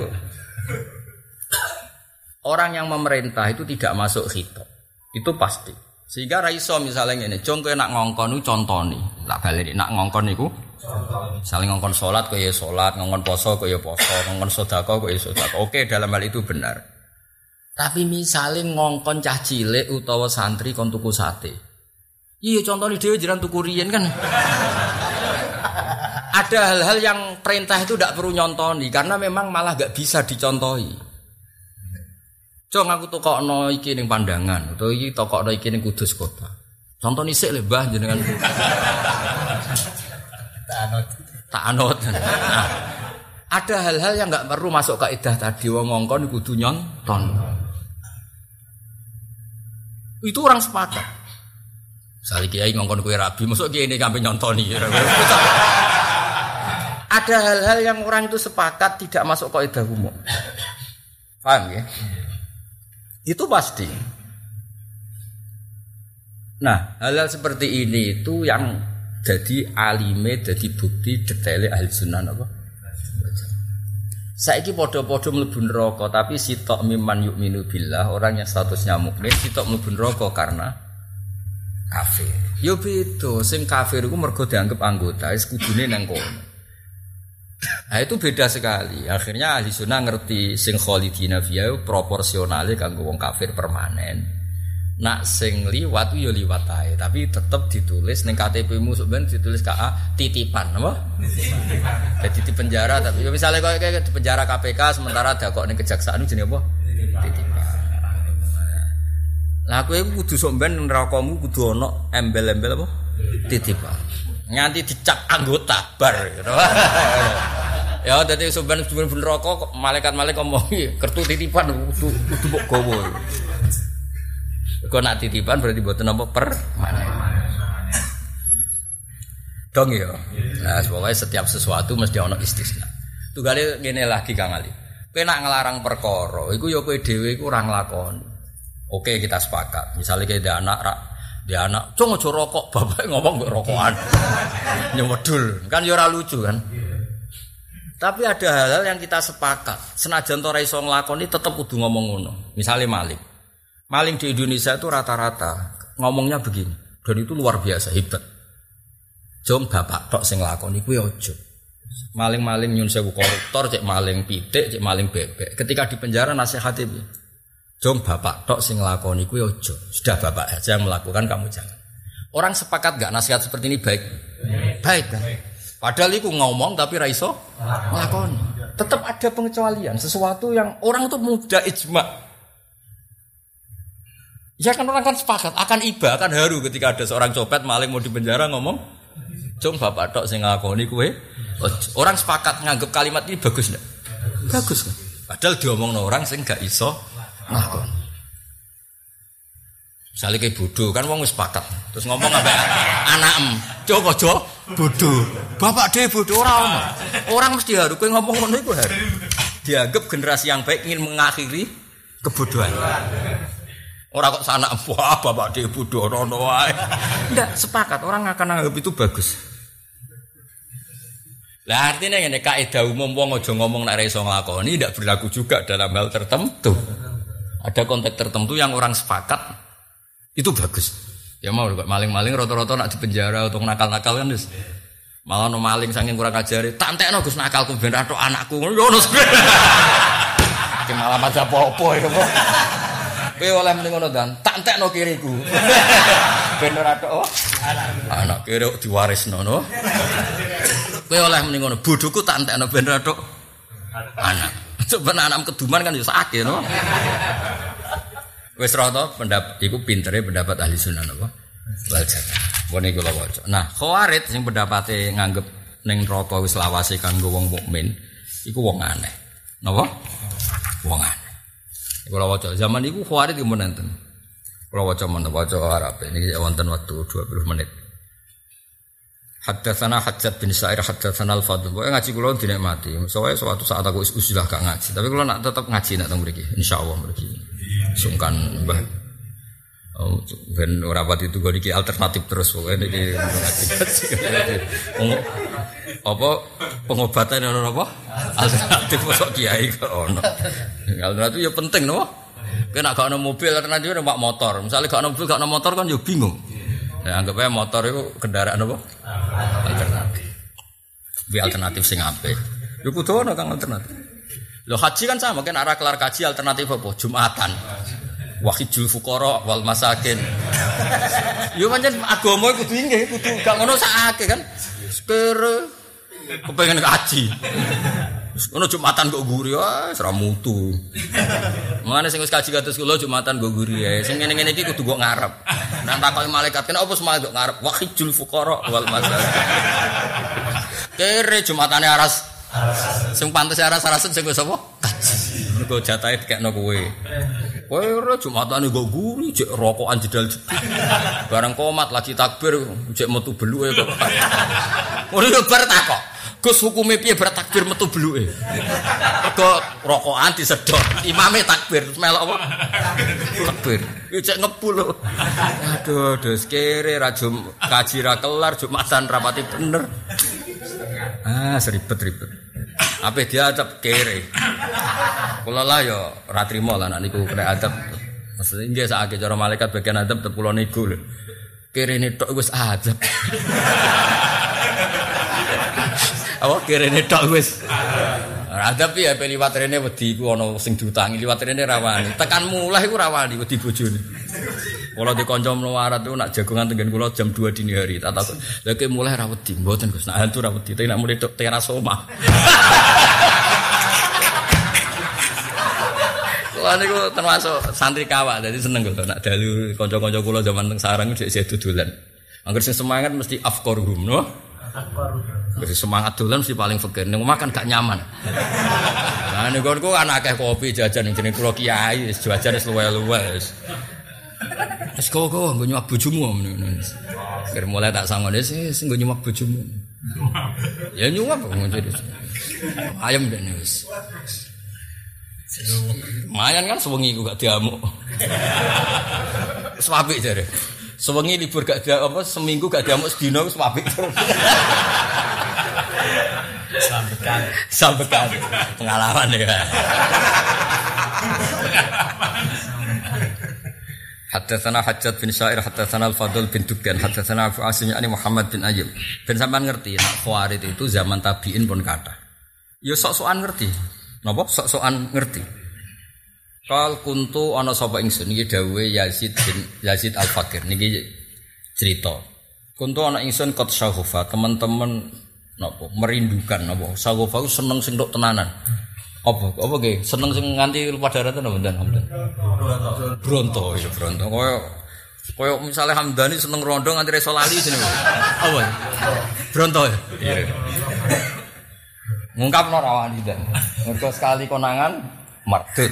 A: Orang yang memerintah itu tidak masuk khitab. Itu pasti. Sehingga ra iso misalnya ngene, jong kowe nak ngongkon iku contoni. Lah balik nak ngongkon niku contoni. Saling ngongkon salat kowe ya salat, ngongkon poso kowe ya poso, ngongkon sedekah kowe ya sedekah. Oke, dalam hal itu benar. Tapi misalnya ngongkon cah cilik utawa santri kon tuku sate. Iya contoni dhewe jiran tuku riyen kan. Ada hal-hal yang perintah itu tidak perlu nyontoni karena memang malah gak bisa dicontohi. Cong aku tokokno iki ning Pandangan, utawa iki tokokno iki ning Kudus kota. Contoni sik le Mbah jenengan. Tak anut. Tak anut. Nah, ada hal-hal yang enggak perlu masuk kaidah tadi wong ngongkon kudu nyonton. Itu orang sepakat. Sali kiai ngongkon kowe rabi, mosok kiai ini sampe nyontoni. Ada hal-hal yang orang itu sepakat tidak masuk kaidah umum. Paham ya? Itu pasti. Nah, hal-hal seperti ini itu yang jadi alime, jadi bukti detailnya ahli sunnah apa? Saiki podo-podo mlebu neraka, tapi sitok miman yu'minu billah, orang yang statusnya mukmin sitok mlebu neraka karena kafir. Yo beda, sing kafir iku mergo dianggap anggota, wis kudune nang kono. Nah itu beda sekali. Akhirnya ahli sunnah ngerti sing khalidina fiha proporsionale kanggo wong kafir permanen. Nak sing liwat yo liwat ae, tapi tetep ditulis ning K T P-mu sebenarnya ditulis K A titipan, apa? Jadi di penjara tapi misalnya kok kayak di penjara K P K sementara dakok ning kejaksaan jenenge apa? Titipan. Lah kowe kudu sok ben nerakamu kudu ana embel-embel apa? Titipan. Nganti dicap anggota bar gitu. Ya dadi sampean bener rokok malaikat-malaikat ngomong kertu titipan kudu kudu mbok gowo. Kok nak titipan berarti mboten apa per dong ya. Nah, pokoknya setiap sesuatu mesti ana istisna. Tugale ngene lagi Kang Ali. Kowe nak nglarang perkara, iku ya kowe dhewe iku ora nglakoni. Oke, kita sepakat. Misalnya kayak ada anak rak dia anak, cung aja rokok, bapak ngomong mbek rokokan. Nyemedul, kan ya ora lucu kan. Tapi ada hal-hal yang kita sepakat. Senajan ora iso nglakoni tetep kudu ngomong ngono. Misale maling. Maling di Indonesia itu rata-rata ngomongnya begini. Dan itu luar biasa hebat. Jom bapak tok sing nglakoni kuwi aja. Maling-maling nyun sewu koruptor, cek maling pitik, cek maling bebek. Ketika di penjara nasihate piye? Jom bapak tok sing nglakoni kuwi aja. Sudah bapak aja yang melakukan, kamu jangan. Orang sepakat enggak nasihat seperti ini baik? Baik kan? Padahal iku ngomong tapi ra iso nglakoni. Tetap ada pengecualian, sesuatu yang orang itu mudah ijma. Ya kan orang kan sepakat akan iba, akan haru ketika ada seorang copet maling mau di penjara ngomong Cung bapak tok sing ngakoni kowe. Orang sepakat nganggep kalimat ini bagus ndak? Bagus kan? Padahal diomongno orang sing gak iso ngakoni. Misalnya kayak bodoh kan wong wis sepakat. Terus ngomong ambek anakem, "Cuk aja bodoh." Bapak dhewe bodoh ora ono. Orang mesti harus kowe ngomong ngono iku harus. Dianggap generasi yang baik ingin mengakhiri kebodohan. Orang kok sanak wah bapak dhewe bodoh ono wae. Ndak sepakat orang akan anggap itu bagus. Lah artinya ngene kaidah umum wong aja ngomong nek ora iso nglakoni ndak berlaku juga dalam hal tertentu. Ada konteks tertentu yang orang sepakat itu bagus. Ya mau kok maling-maling rata-rata nak dipenjara atau nakal-nakal kan wis. Malah no maling saking kurang ajare, tak entekno Gus nakalku ben ra tok anakku. Yo ngono. Ki malah aja apa-apa ya kok. Kowe oleh muni ngono dan tak entekno kiriku. Ben ora tok anak kiri diwarisno no. Kowe oleh muni ngono, bodhoku tak entekno ben ora tok anak. Coba anak keduman kan yo sakit no. Wis rata pendapat iku pintere pendapat ahli sunnah napa? Wal jamaah. Wong iku lho waca. Nah, Khawarij sing pendapate nganggep ning neraka wis lawase kanggo wong mukmin, iku wong aneh. Napa? Wong aneh. Iku lho waca. Zaman iku Khawarij mun enten. Kula waca men waca Arab niki wonten waktu dua puluh menit. Haddatsana Hajjat bin Sa'ir haddatsana Al-Fadl. Pokoke ngaji kula dinikmati. Soale suatu saat aku usulah gak ngaji, tapi kula nak tetep ngaji nek teng mriki insyaallah mriki. Sungkan Mbah. Oh, ben ora pati itu kok iki alternatif terus pokoke niki apa pengobatan ono apa? Alternatif kok kiai kok ono. Alternatif ya penting no. Kena gak ono mobil alternatif numpak motor. Misalnya gak ono mobil gak ono motor kan yo bingung. Ya anggap aja motor itu kendaraan apa? Alternatif. Bi alternatif sing apik. Yo kudu ono kang alternatif. Lho haji kan sama kan arah kelar kaji alternatif apa? Jumatan. Wahidul fuqara wal masakin. Yo pancen agama kudu nggih, kudu gak ngono sakake kan. Sepere kepengen kaji. Ono Jumatan kok guri wae ora mutu. Mangane sing wis kaji kados kula Jumatan kok guri ae. Sing ngene-ngene iki kudu kok ngarep. Nek takoki malaikat kene apa semal kok ngarep? Wahidul fuqara wal masakin. Kere Jumatane aras. Sing pantes aras-arasen sing wis apa? Kaji. Mergo jatahe dikekno kowe. Kowe ora Jumatane kok guri jek rokokan jedal jedul. Bareng komat lagi takbir jek metu beluke kok. Ora yo bar takok. Gus hukume piye bertakbir metu beluke? Mergo rokokan disedot, imame takbir melok apa? Takbir. Iki cek ngepul lho. Aduh, dos kere ra jum kaji ra kelar, Jumatan rapati bener. Ah, seribet-ribet. Ape diadab kere. Kula lah yo ora trimo lah nek niku kena adab. Maksudnya nggih sakake cara malaikat bagian adab tepulo niku lho. Kere tok wis adab. Awak kirene tok wis. Adab ya pe liwat rene wedi iku ana sing diutangi liwat rene rawani. Tekan mulai iku rawani wedi bojone. Kula di kanca mlawarat iku nak jagongan tenggen kula jam dua dini hari. Tak takon, "Lha ki mulai ra wedi?" Mboten Gus, nak hantu ra wedi, tapi nak mulai tok teras omah. Kula niku termasuk santri kawak, dadi seneng kok nak dalu kanca-kanca kula zaman teng sarang dhek dodolan. Angger sing semangat mesti afqaruhum, no? Wis semangat dolan mesti paling fakir. Ning omah kan gak nyaman. Lah nek konku kan akeh kopi jajan ning jeneng kula kiai, wis jajan wis luwe-luwe wis. Wis kok-kok nggo nyuwak bojomu ngono. Kira mulai tak sangone sih nggo nyuwak bojomu. Ya nyuwak kok ngono. Ayam dene wis. Mayan kan sewengi ku gak diamuk. Wis apik jare. Sewengi libur gak dia apa seminggu gak diamuk sedina wis apik. Sampekan, sampekan pengalaman ya. Haddatsana Hajjat bin Sa'ir haddatsana Al-Fadl bin Dukan haddatsana Abu Asim ani Muhammad bin Ayyub. Ben sampean ngerti nek Khawarij itu zaman tabi'in pun kathah. Ya sok-sokan ngerti. Napa sok-sokan ngerti. Kal kuntu ana sapa ingsun iki dawuhe Yazid bin Yazid Al-Fakir niki cerita. Kuntu ana ingsun qad syaghafa teman-teman napa merindukan napa syaghafa seneng sing tok tenanan. Apa apa nggih seneng sing nganti lupa daratan napa mboten mboten. Bronto ya bronto kaya kaya misale Hamdani seneng rondo nganti reso lali jenenge. Apa? Bronto ya. Iya. Ngungkapno ra wani dan. Mergo sekali konangan mardut.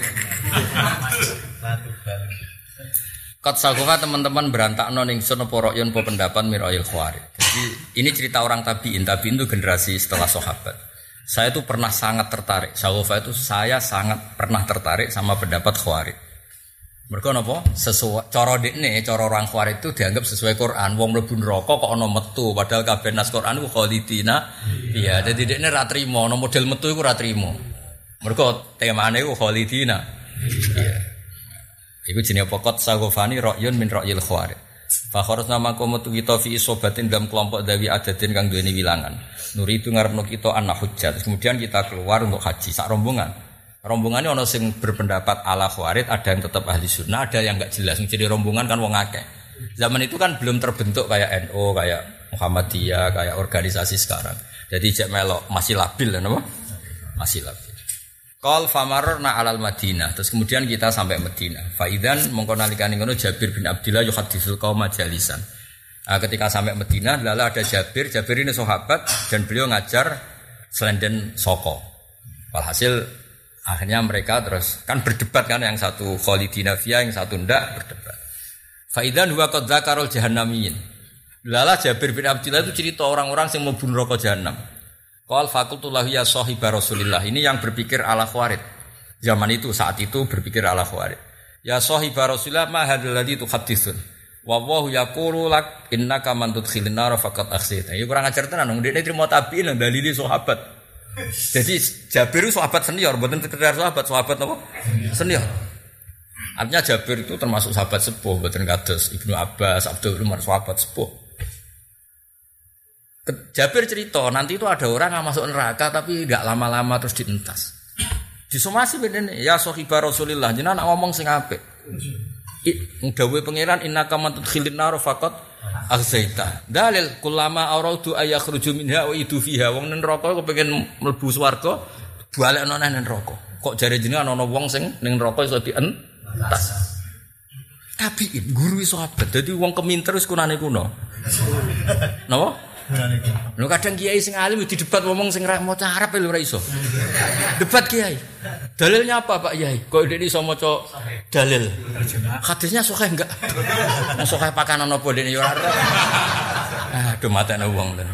A: Kat sakofa teman-teman berantakno ning sun apa ra'yun apa pendapat mirayil khawarij. Jadi ini cerita orang tabi'in. Tabi'in itu generasi setelah sahabat. Saya tuh pernah sangat tertarik. Sakofa itu saya sangat pernah tertarik sama pendapat khawarij. Mergo napa? Sesuai cara dekne, cara orang Khawarij itu dianggap sesuai Quran. Wong mlebu neraka kok ana metu, padahal kabeh nas Quran iku khalidina. Iya, dadi dekne ra trimo, ana model metu iku ra trimo. Mergo temane iku khalidina. Iya. Iku jenenge pokok sagofani ra'yun min ra'yil Khawarij. Fa kharasna maka metu kita fi isobatin dalam kelompok dawi adatin kang duweni wilangan. Nuri itu ngarepno kita ana hujjat. Kemudian kita keluar untuk haji sak rombongan. Rombongannya ono sing berpendapat ala Khawarij, ada yang tetap ahli sunnah, ada yang enggak jelas. Jadi rombongan kan wong akeh. Zaman itu kan belum terbentuk kayak N U, kayak Muhammadiyah, kayak organisasi sekarang. Jadi cek melok masih labil kan apa? Masih labil. Qal famarna alal Madinah. Terus kemudian kita sampai Madinah. Faidan mongko nalikane ngono Jabir bin Abdullah yuhaditsul qaum majalisan. Nah, ketika sampai Madinah, lala ada Jabir. Jabir ini sahabat dan beliau ngajar selenden soko. Walhasil akhirnya mereka terus kan berdebat kan, yang satu khalidina fiha, yang satu ndak berdebat. Faidan huwa qad dzakarul jahannamiyin. Lala Jabir bin Abdullah itu cerita orang-orang yang mau bunuh neraka jahanam. Qal faqultu lahu ya sahiba Rasulillah. Ini yang berpikir ala Khawarij. Zaman itu saat itu berpikir ala Khawarij. Ya sahiba Rasulillah ma hadzal ladzi tuhadditsun. Wa wallahu yaqulu lak innaka man tudkhilin nar faqad akhsita. Ya kurang ajar tenan wong dekne trimo tabiin dalili sahabat. Jadi Jabir itu sahabat senior, bukan sekedar sahabat, sahabat apa? Senior. Artinya Jabir itu termasuk sahabat sepuh, bukan kados Ibnu Abbas, Abdul Umar, sahabat sepuh. Jabir cerita, nanti itu ada orang yang masuk neraka tapi enggak lama-lama terus dientas. Disomasi bedene, ya sahibah Rasulillah, jenengan ngomong sing apik. Dawuhe pangeran innaka man tudkhilin nar faqat akhzaita. Dalil kullama aradu ayakhruju minha wa idu fiha. Wong ning neraka kepengin mlebu swarga, balekno nang neraka. Kok jare jenengan ana wong sing ning neraka iso dientas. Tabiin guru sahabat. Dadi wong keminter wis kunane kuno. Napa? Lho kadang kiai sing alim didebat ngomong sing ra maca Arab lho ora iso. Debat kiai. Dalilnya apa Pak Yai? Kok dekne iso maca dalil? Hadisnya sahih enggak? Sahih pakanan apa dekne yo ora. Aduh matane wong lho.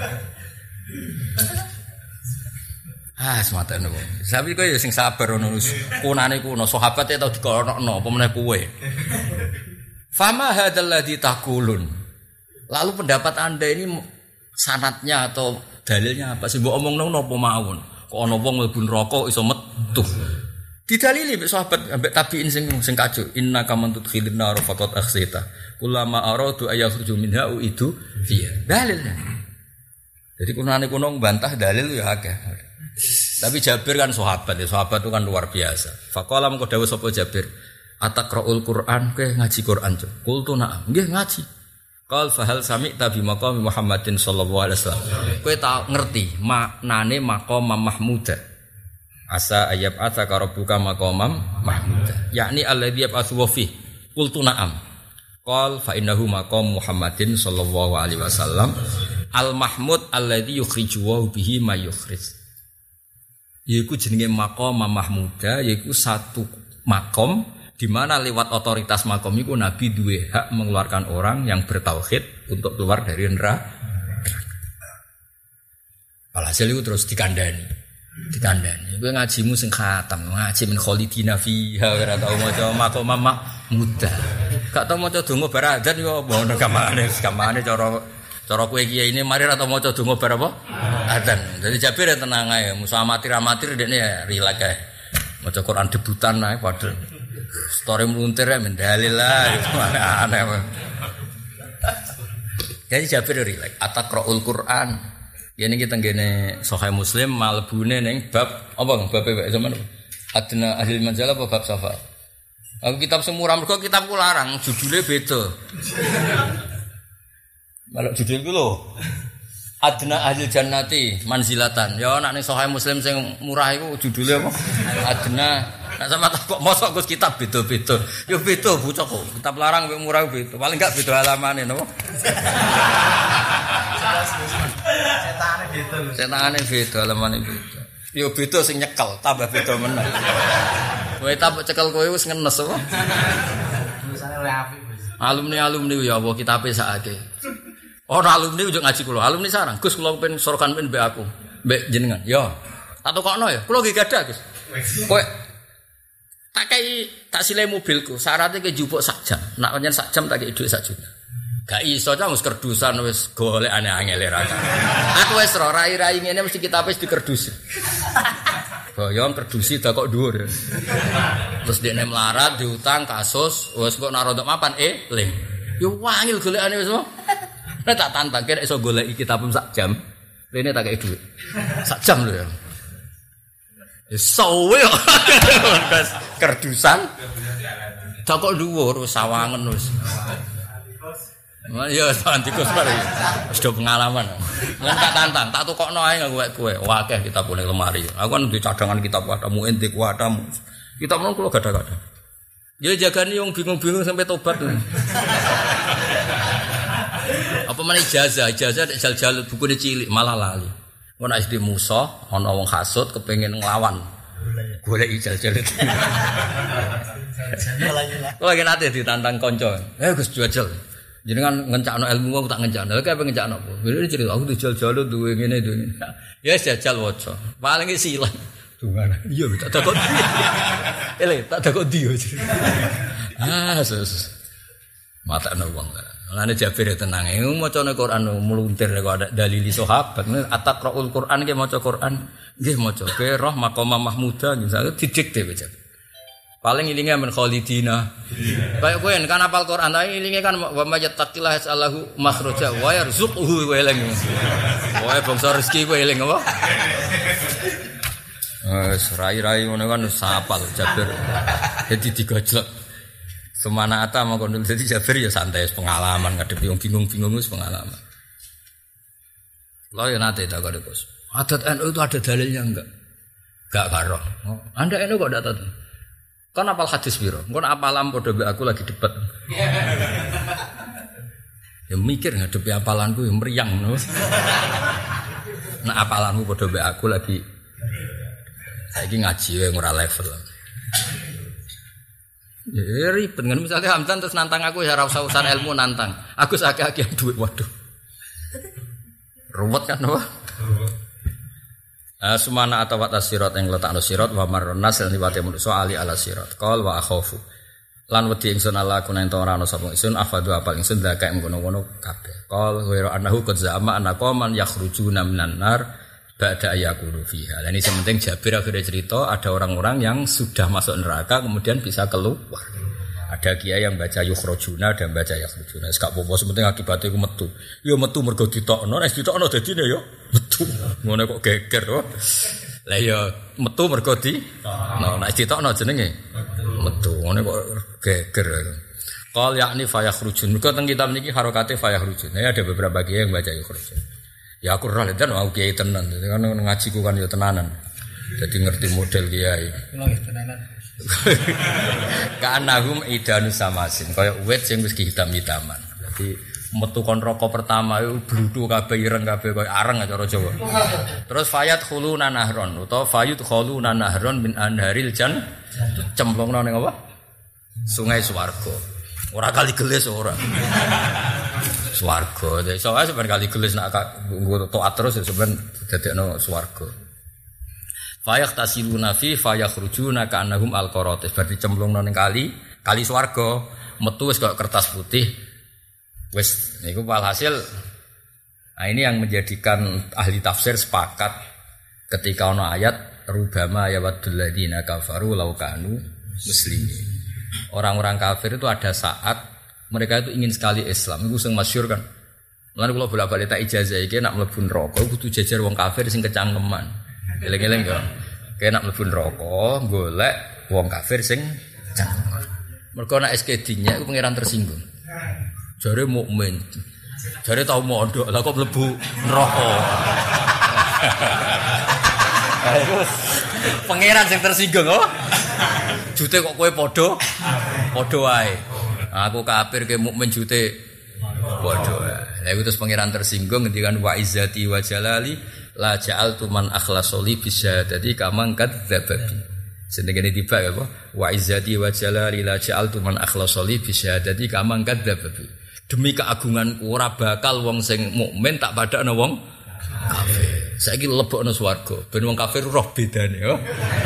A: Ah sematane wong. Sapi kowe yo sing sabar ngono wis kunane kuno sahabate tau dikonokno apa meneh kowe. Fama hadzal ladzi taqulun. Lalu pendapat Anda ini sanatnya atau dalilnya apa sih? Mbok omongno napa mawon? Kok ana wong mlebu neraka iso metu. Didalili mek sahabat ambek tabiin sing sing kajuk. Innaka man tudkhilin nar faqat akhsita. Kullama aradu ayakhruju minha itu fiha. Dalilnya. Jadi kunane kuno mbantah dalil ya akeh. Tapi Jabir kan sahabat, ya sahabat itu kan luar biasa. Faqala mengko dawuh sapa Jabir, "Ataqra'ul Qur'an?" Kowe ngaji Qur'an, Cuk. Qultu na'am. Nggih ngaji. Qal fahal sami'ta bi maqami Muhammadin sallallahu alaihi wasallam. Kowe tak ngerti maknane maqam mahmuda. Asa ayab ataka rabbuka maqamam mahmuda. Yakni alladzi yab'atsu wa fi. Qultu na'am. Qal fa innahu maqam Muhammadin sallallahu alaihi wasallam al mahmud alladzi yukhrijuhu bihi ma yukhrij. Yaiku jenenge maqam mahmuda, yaiku satu makom di mana lewat otoritas makom itu Nabi duwe hak mengeluarkan orang yang bertauhid untuk keluar dari neraka. Alhasil itu terus dikandani, dikandani. Kowe ngajimu sing khatam, ngaji min khalidina fiha ora tau maca makom mahmuda. Gak tau maca donga bar adzan yo ono gamane, gamane cara cara kowe kiai ini mari ora tau maca donga bar apa? Adzan. Jadi Jabir ya tenang ae, musa amatir-amatir dekne ya rileks ae. Maca Quran debutan ae padahal story meluntir ya mendalil lah aneh jadi Jabir rileks ataqra'ul Qur'an ini kita ngene Sahih Muslim malbune ning bab apa bab bab zaman adna ahli manzalah apa bab safar aku kitab semurah mergo kitabku larang judulnya beda malah judulku lho adna ahli jannati manzilatan ya nek ning Sahih Muslim sing murah iku judulnya apa adna. Nah sama tak kok mosok Gus kitab beda-beda. Yo beda bocah kok. Kitab larang mek murah beda. Paling enggak beda halamane napa?
B: Setane beda.
A: Setane beda, lemane beda. Yo beda sing nyekel, tambah beda meneh. Kowe tak cekel kowe wis ngenes apa?
B: Tulisane oleh apik, Gus.
A: Alumni-alumni ya Allah kitabe sakake. Ora alumni ujug ngaji kula, alumni sarang. Gus kula pengen sorokan pengen mbek aku, mbek jenengan. Ya. Tak tokokno ya. Kula nggih gadah, Gus. Kowe tak kei tak sile mobilku, syaratnya ke jupuk sak jam. Nak pancen sak jam tak kei dhuwit sak juta. Gak iso cah wis kerdusan wis golek aneh-aneh ra. Aku wis ro rai-rai ngene mesti kitabe wis dikerdusi. Boyong kerdusi dak kok dhuwur. Terus dekne melarat diutang kasus, wis kok naro untuk mapan eh ling. Yo wangil golekane wis. Nek tak tantang kira iso goleki kitab sak jam. Rene tak kei dhuwit. Sak jam lho ya. Sowe kok kerdusan. Dak kok dhuwur sawangen wis. Ya antikus bare. Wis do pengalaman. Lan tak tantang, tak tukokno ae nggo kowe. Wakeh kitab ning lemari. Aku kan di cadangan kitab wadamu ente kuwadamu. Kitab nang kula gadah-gadah. Ya jagani wong bingung-bingung sampai tobat. Apa meneh ijazah, ijazah nek jal-jal bukune cilik malah lali. Ngono nek di Musa ana wong hasud kepengin nglawan. Golek ijazah. Kok lagi nate ditantang kanca. Eh Gus jual. Jenengan ngencakno ilmu aku tak ngencakno. Lha apa ngencakno apa? Wis cerita aku dijal-jalo duwe ngene duwe. Ya jajal waca. Paling silang. Dungan. Iya tak takut. Ele tak takut dia. Ah sus. Matakno wong. Lane Jabir tenang. Macane Quran muluntir kok ada dalili sahabat. Ataqraul Quran ki maca Quran. Nggih maca. Ke roh maqama mahmuda misalnya didikte wae. Paling ilinge men khalidina. Kayak kowe kan hafal Quran ta ilinge kan wa mayattaqillah yasallahu makhraja wa yarzuquhu wa eling. Wae bangsa rezeki kowe eling apa? Wes rai-rai ngono kan sapal Jabir. Dadi digojlok. Semana ata mongko dadi Jabir ya santai pengalaman ngadepi wong bingung-bingung wis pengalaman. Lah ya nate tak kok Gus. Adat N U itu ada dalilnya enggak? Enggak karo. Oh, Anda N U kok ndak tahu? Kan apal hadis piro? Engko apalam padha mbek aku lagi debat. Ya mikir ngadepi apalanku ya meriang no. Nah apalanmu padha mbek aku lagi saiki ngaji wae ora level. Ya ribet kan misalnya Hamdan terus nantang aku ya ora usah-usan ilmu nantang. Aku sakake duit waduh. Ruwet kan apa? Uh, sumana atau watas sirat yang letakno sirat wa marnas lan liwate manusa ali ala sirat qol wa akhafu lan wedi ingsun ala kuna ento ora ana sapa ingsun afadu apal ingsun dakae ngono-ngono kabeh qol wa annahu qad zama anaqaman yakhrujuna minan nar ba'da ayakulu fiha. Lah ini sementing Jabir akhirnya cerita ada orang-orang yang sudah masuk neraka kemudian bisa keluar. Ada kiai yang baca yukhrojuna dan baca yakhrujuna. Wis gak apa-apa sementing akibatnya iku metu. Ya metu mergo ditokno, nek ditokno dadine ya metu. Ngono kok geger to. Lah ya metu mergo di nah nek ditokno jenenge metu. Ngono kok geger. Qal yakni fayakhrujun. Mergo teng kitab niki harokate fayakhrujun. Ya ada beberapa kiai yang baca yukhrojun. Ya aku ora dan mau kiai tenan. Kan ngajiku kan ya tenanan. Jadi ngerti model kiai.
B: Kulo nggih tenanan.
A: Kanahum idanu samasin kaya wit sing wis hitam-hitaman. Dadi metu kon roko pertama iku bluthu kabeh ireng kabeh kaya areng cara Jawa. Terus fayat khuluna nahron utawa fayut khuluna nahron min anharil jan cemplungno ning apa? Sungai swarga. Ora kali gelis ora. Swarga. Dadi soalnya sebenarnya kali gelis nak nggo taat terus sebenarnya dadekno swarga. Fayak tasiluna fi fayakhrujuna ka'annahum alqaratis berarti cemplungno ning kali kali swarga metu wis kaya kertas putih wis niku walhasil nah ini yang menjadikan ahli tafsir sepakat ketika ana ayat rubama yawaddul ladina kafaru law kanu muslimin orang-orang kafir itu ada saat mereka itu ingin sekali Islam iku sing masyhur kan lan kula bolak-balik tak ijazah iki nek mlebu neraka kudu jajar wong kafir sing kecangkeman. Eleng-eleng ya. Kaya nak mlebu neraka golek wong kafir sing cangkem. Mergo nek S K D-nya iku pangeran tersinggung. Jare mukmin. Jare tau mondok, lha kok mlebu neraka. Ayo. Pangeran sing tersinggung oh. Jute kok kowe padha padha wae. Aku kafir ke mukmin jute padha wae. Lha terus pangeran tersinggung ngendikan wa izzati wa jalali la ja'altu man akhlasoli bisyadati kama kadzdzababi. Senengene tiba ya apa? Wa izzati wa jalali la ja'altu man akhlasoli bisyadati kama kadzdzababi. Demi keagunganku ora bakal wong sing mukmin tak padakno wong kafir. Saiki lebokno swarga ben wong kafir roh bedane yo.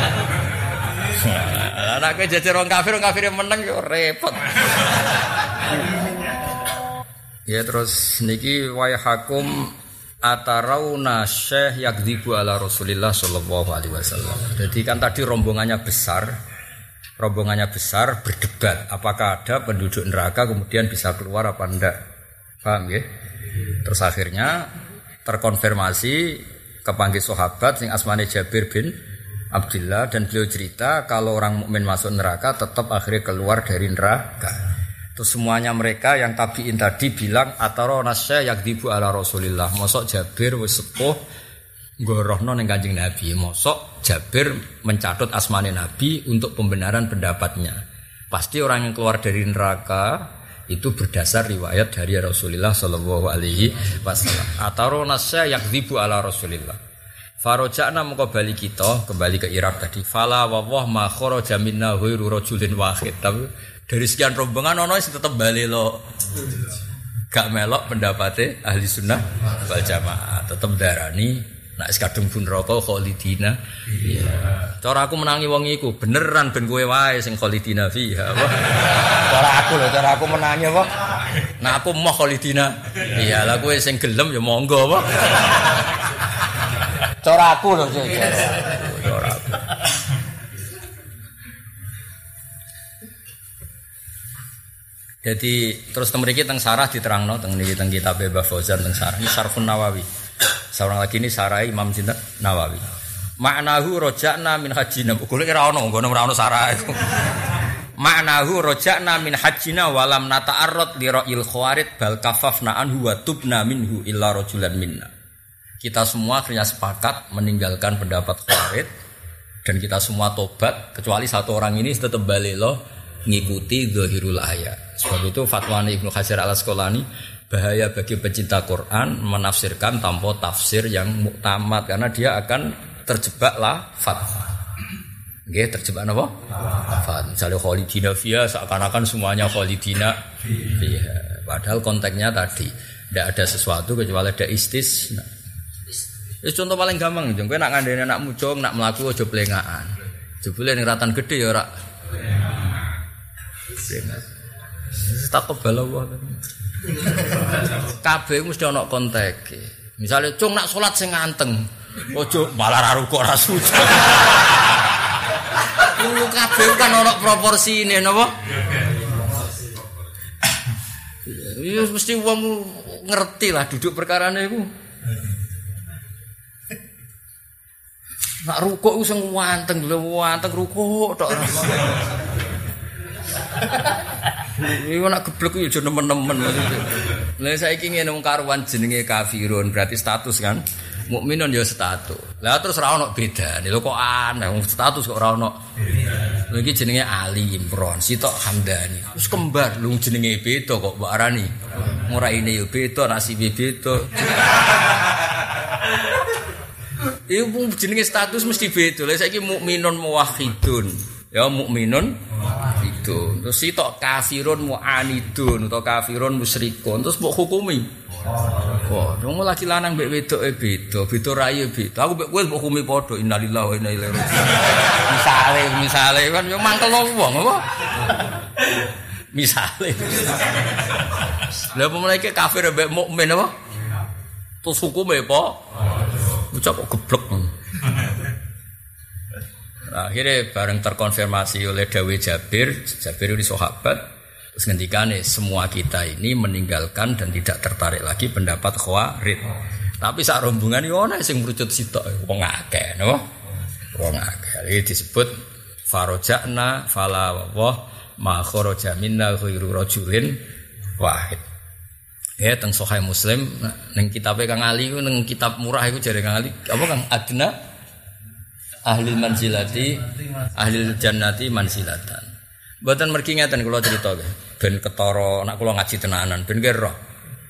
A: Anake jejer wong kafir, wong kafir meneng yo repot. Ya terus niki wayhakum atarauna syekh yakdzibu ala Rasulillah sallallahu alaihi wasallam. Jadi kan tadi rombongannya besar. Rombongannya besar berdebat apakah ada penduduk neraka kemudian bisa keluar apa enggak. Paham ya? Terus akhirnya terkonfirmasi kepanggil sahabat sing asmane Jabir bin Abdullah dan beliau cerita kalau orang mukmin masuk neraka tetap akhirnya keluar dari neraka. Terus semuanya mereka yang tabiin tadi bilang ataro nasya yakdzibu ala Rasulillah. Mosok Jabir wis sepuh ngorohno ning Kanjeng Nabi. Mosok Jabir mencatut asmane Nabi untuk pembenaran pendapatnya. Pasti orang yang keluar dari neraka itu berdasar riwayat dari Rasulullah sallallahu alaihi wasallam. Ataro nasya yakdzibu ala Rasulillah. Faroja'na mengko bali kita kembali ke Irak tadi. Fala wawah ma kharaja minna ghairu rajulin wahid. Tapi dari sekian rombongan ono sing tetep bali lo. Gak melok pendapate ahli sunnah wal jamaah. Tetep darani nek kadung pun neraka khalidina. Iya. Cara aku menangi wong iku beneran ben kowe wae sing khalidina fiha. Cara aku lho, cara aku menangi apa? Nah aku mau khalidina. Iya, lah kowe sing gelem ya monggo apa? Cara aku lho, cara aku. Jadi terus temeriki teng sarah diterangno teng niki teng kitab Mbah Fauzan teng sarah ini Syarhun Nawawi. Seorang lagi ini sarai Imam Sinten Nawawi. Ma'nahu roja'na min hajjina. Golek ora ono, ngono ora ono sarah iku. Ma'nahu roja'na min hajjina walam nata'arrad li ra'il khawarid bal kafafna anhu wa tubna minhu illa rajulan minna. Kita semua akhirnya sepakat meninggalkan pendapat khawarid dan kita semua tobat kecuali satu orang ini tetap balik loh ngikuti zahirul ayat. Sebab itu fatwa Ibnu Hajar Al-Asqalani bahaya bagi pencinta Quran menafsirkan tanpa tafsir yang muktamad karena dia akan terjebak lafaz. Nggih, terjebak napa? Lafaz. Misalnya khalidina fiha seakan-akan semuanya khalidina fiha. Padahal konteksnya tadi tidak ada sesuatu kecuali ada istisna. Wis contoh paling gampang, kowe nak ngandene anak mucung, nak mlaku aja plengakan. Jebule ning ratan gedhe ya ora. Takobal Allah. Kabeh mesti ana konteke. Misale cung nak salat sing nganteng, aja malah ra rukuk ra sujud. Kuwi kabeh kan ana proporsine napa? Iya mesti wong ngerti lah duduk perkarane iku. Nak rukuk ku sing wanteng lho, wanteng rukuk tok. Iku nak geblek yo aja nemen-nemen maksudnya. Lah saiki ngene wong karuan jenenge kafirun berarti status kan. Mukminun ya status. Lah terus ora ono bedane. Lho kok aneh wong status kok ora ono. Lha iki jenenge Ali Imran, sitok Hamdani. Wis kembar lu jenenge beda kok mbok arani. Muraine yo beda, nasibe beda. Iku jenenge status mesti beda. Lah saiki mukminun muwahhidun. Ya mukminun itu. Terus sitok kafirun mu'anidun atau kafirun musyrikun. Terus mbok hukumi. Wah, wong laki lanang mbek wedoke beda, beda raye beda. Aku mbek kowe mbok hukumi padha innalillahi wa inna ilaihi raji'un. Misale, misale kan yo mangkel wong apa? Misale. Lah pemulai kafir mbek mukmin apa? Terus hukume apa? Ucap kok geblek. Akhirnya bareng terkonfirmasi oleh Dawe Jabir, Jabir ini sahabat, terus ngendikane semua kita ini meninggalkan dan tidak tertarik lagi pendapat Khawarij. Tapi sak rombongan yo ana sing mrucut sitok, wong akeh, napa? Wong akeh. Iki disebut faroja'na fala wa ma kharaja minna ghairu rajulin wahid. Ya teng Sahih Muslim ning kitabe Kang Ali ku ning kitab murah iku jare Kang Ali, apa Kang Adna ahli manzilati ahli jannati manzilatan. Mboten mergi ngeten kula crita ben ketara nek kula ngaji tenanan ben nggih roh.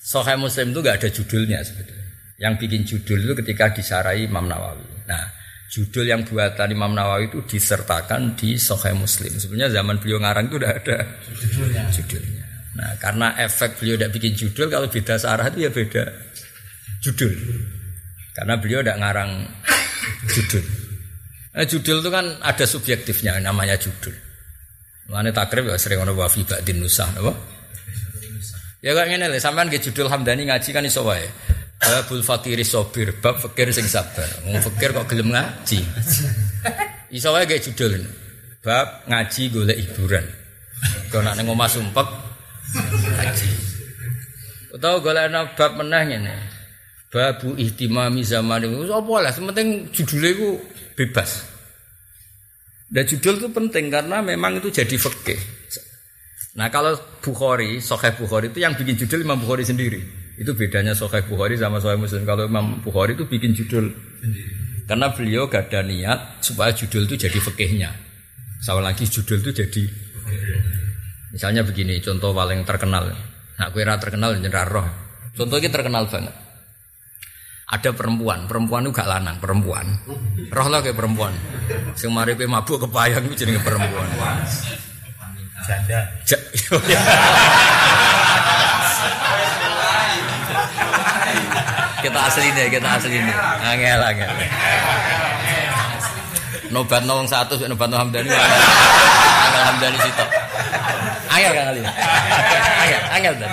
A: Sahih Muslim itu enggak ada judulnya sebetulnya. Yang bikin judul itu ketika disarai Imam Nawawi. Nah, judul yang buatan Imam Nawawi itu disertakan di Sahih Muslim. Sebenarnya zaman beliau ngarang itu udah ada judulnya. judulnya. Nah, karena efek beliau tidak bikin judul, kalau beda sarah itu ya beda judul. Karena beliau tidak ngarang judul. Nah, judul itu kan ada subjektifnya, namanya judul. Mulane takrib ya sering ono wa fi ba'din nusah, apa? Ya kok ngene lho, sampean nggih judul Hamdani ngaji kan iso wae. Babul fakiri sobir, bab fakir sing sabar. Wong fakir kok gelem ngaji. Iso wae nggih judul. Bab ngaji golek hiburan. Kok nek ning omah sumpek ngaji. Utawa golek bab meneh ngene. Babu ihtimami zaman itu apa lah, sementing judulnya itu bebas. Dan judul itu penting karena memang itu jadi fikih. Nah kalau Bukhari, Sahih Bukhari itu yang bikin judul Imam Bukhari sendiri. Itu bedanya Sahih Bukhari sama Sahih Muslim. Kalau Imam Bukhari itu bikin judul sendiri. Karena beliau gak ada niat supaya judul itu jadi fikihnya. Sama lagi judul itu jadi. Misalnya begini, contoh paling terkenal. Nah, kira terkenal jenderal roh. Contoh ini terkenal banget. Ada perempuan, perempuan itu gak lanang, perempuan. Roh lah kayak perempuan. Sing maripe mabuk kepayang itu jenenge perempuan.
B: Janda.
A: Kita asli nih, kita asli nih. Angel, angel. Nobat nong satu, nobat nong Hamdani. Angel Hamdani situ. Angel kan kali. Angel, angel dan.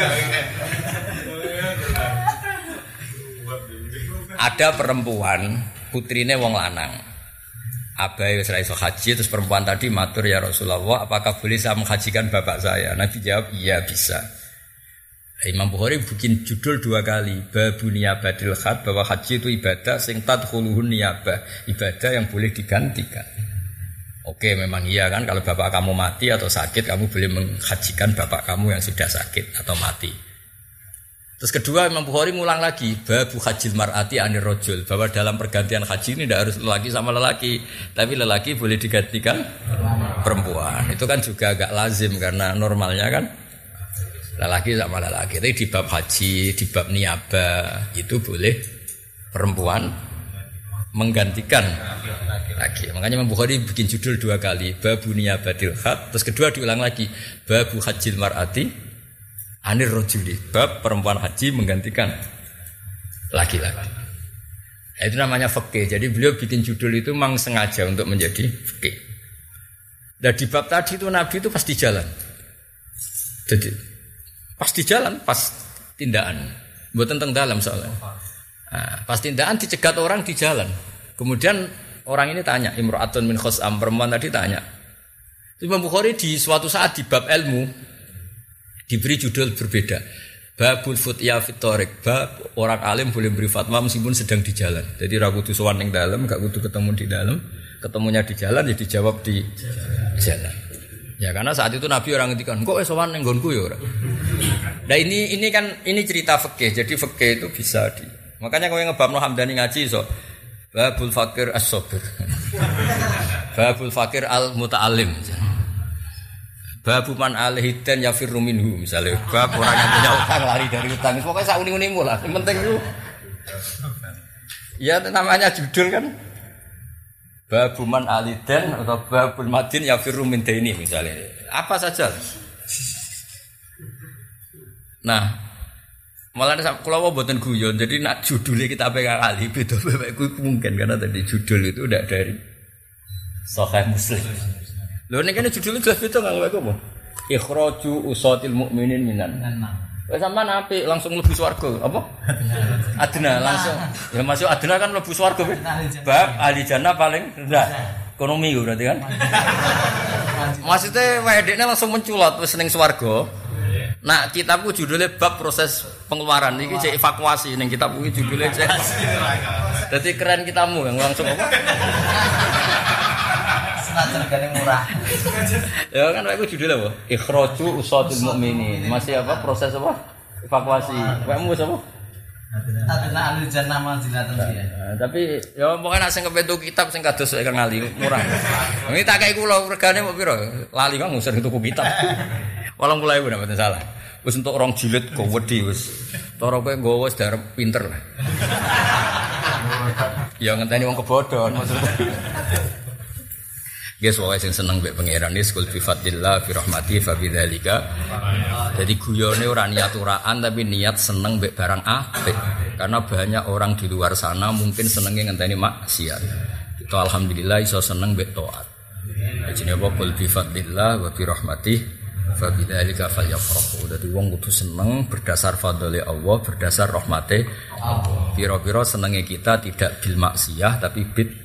A: Ada perempuan, putrine wong lanang. Abai wis ra iso haji, terus perempuan tadi matur, ya Rasulullah, apakah boleh saya menghajikan bapak saya? Nabi jawab, iya bisa. Imam Bukhari bikin judul dua kali, babu niyabatil khat, bahwa haji itu ibadah sing tadkhuluhun niyabah, ibadah yang boleh digantikan. Oke, memang iya kan, kalau bapak kamu mati atau sakit, kamu boleh menghajikan bapak kamu yang sudah sakit atau mati. Terus kedua, Imam Bukhari ngulang lagi, babu hajil mar'ati anir rojul, bahwa dalam pergantian haji ini tidak harus lelaki sama lelaki, tapi lelaki boleh digantikan perempuan. Itu kan juga agak lazim karena normalnya kan lelaki sama lelaki. Tapi di bab haji, di bab niyabah itu boleh perempuan menggantikan lagi. Makanya Imam Bukhari bikin judul dua kali, babu niyabatil khat, terus kedua diulang lagi, babu hajil mar'ati anir rojuli, bab perempuan haji menggantikan laki-laki. Nah, itu namanya fikih. Jadi beliau bikin judul itu memang sengaja untuk menjadi fikih. Dan di bab tadi itu Nabi itu pasti jalan. Jadi pasti jalan, pas tindakan. Buat tentang dalam soalnya. Nah, pas tindakan dicegat orang di jalan. Kemudian orang ini tanya, Imra'atun min khos'am, perempuan tadi tanya. Imam Bukhari di suatu saat di bab ilmu diberi judul berbeda. Babul futya fitorik, bab orang alim boleh beri fatwa meskipun sedang di jalan. Jadi ra kudu sowan ning dalem, gak kudu ketemu di dalam, ketemunya di jalan ya dijawab di jalan. Ya karena saat itu Nabi orang ngendikan, "Kok wis sowan ning nggonku ya ora?" Nah ini ini kan ini cerita fikih. Jadi fikih itu bisa di. Makanya kowe ngebabno Hamdani ngaji iso. Babul fakir as-sabir. Babul fakir al-muta'allim. Babu man alhidan yafirru minhu, misalnya bab orang yang punya utang lari dari utang. Pokoknya sak uni-unimu lah. Yang penting itu ya namanya judul kan. Babu man alhidan atau babul madin yafirru min daini misalnya. Apa saja. Nah, malah kula mboten guyon. Jadi nak judulnya kita pegang kali beda-beda iku mungkin karena tadi judul itu udah dari Sahih Muslim. Lho nek kene judulnya jelas beda enggak apa apa. Ikhraju usatil mukminin minan. Wes sampean apik langsung mlebu swarga, apa? Adna langsung. Ya masuk adna kan mlebu swarga. Bab ahli jannah paling rendah. Ekonomi berarti kan. Maksudnya wedekne langsung menculot wis ning swarga. Nah, kitabku judulnya bab proses pengeluaran iki cek evakuasi ning kitabku iki judulnya cek. Dadi keren kitamu yang langsung apa?
B: Harganya murah.
A: Ya kan aku judulnya apa? Ikhraju usatul mukminin. Masih apa? Proses apa? Evakuasi. Kamu apa?
B: Adna ahli jannah manzilatan dia.
A: Tapi ya pokoknya nek sing kepetu kitab sing kados kang ngali murah. Ini tak kei kula regane mbok pira? Lali kang ngusir tuku kitab. delapan puluh ribu nek mboten salah. Wis entuk rong jilid kok wedi wis. Cara kowe nggawa wis darep pinter lah. Ya ngenteni wong kebodhon maksudnya. Guys, wae sing seneng mbek pangeran iki kul bi fadlillah bi rahmati fa bidzalika. Jadi guyone ora niat uraan tapi niat seneng mbek barang apik. Karena banyak orang di luar sana mungkin senenge ngenteni maksiat. Kita alhamdulillah iso seneng mbek taat. Jenenge apa kul bi fadlillah wa bi rahmati fa bidzalika falyafrahu. Dadi wong kudu seneng berdasar fadhole Allah, berdasar rahmate Allah. Pira-pira senenge kita tidak bil maksiyah tapi bid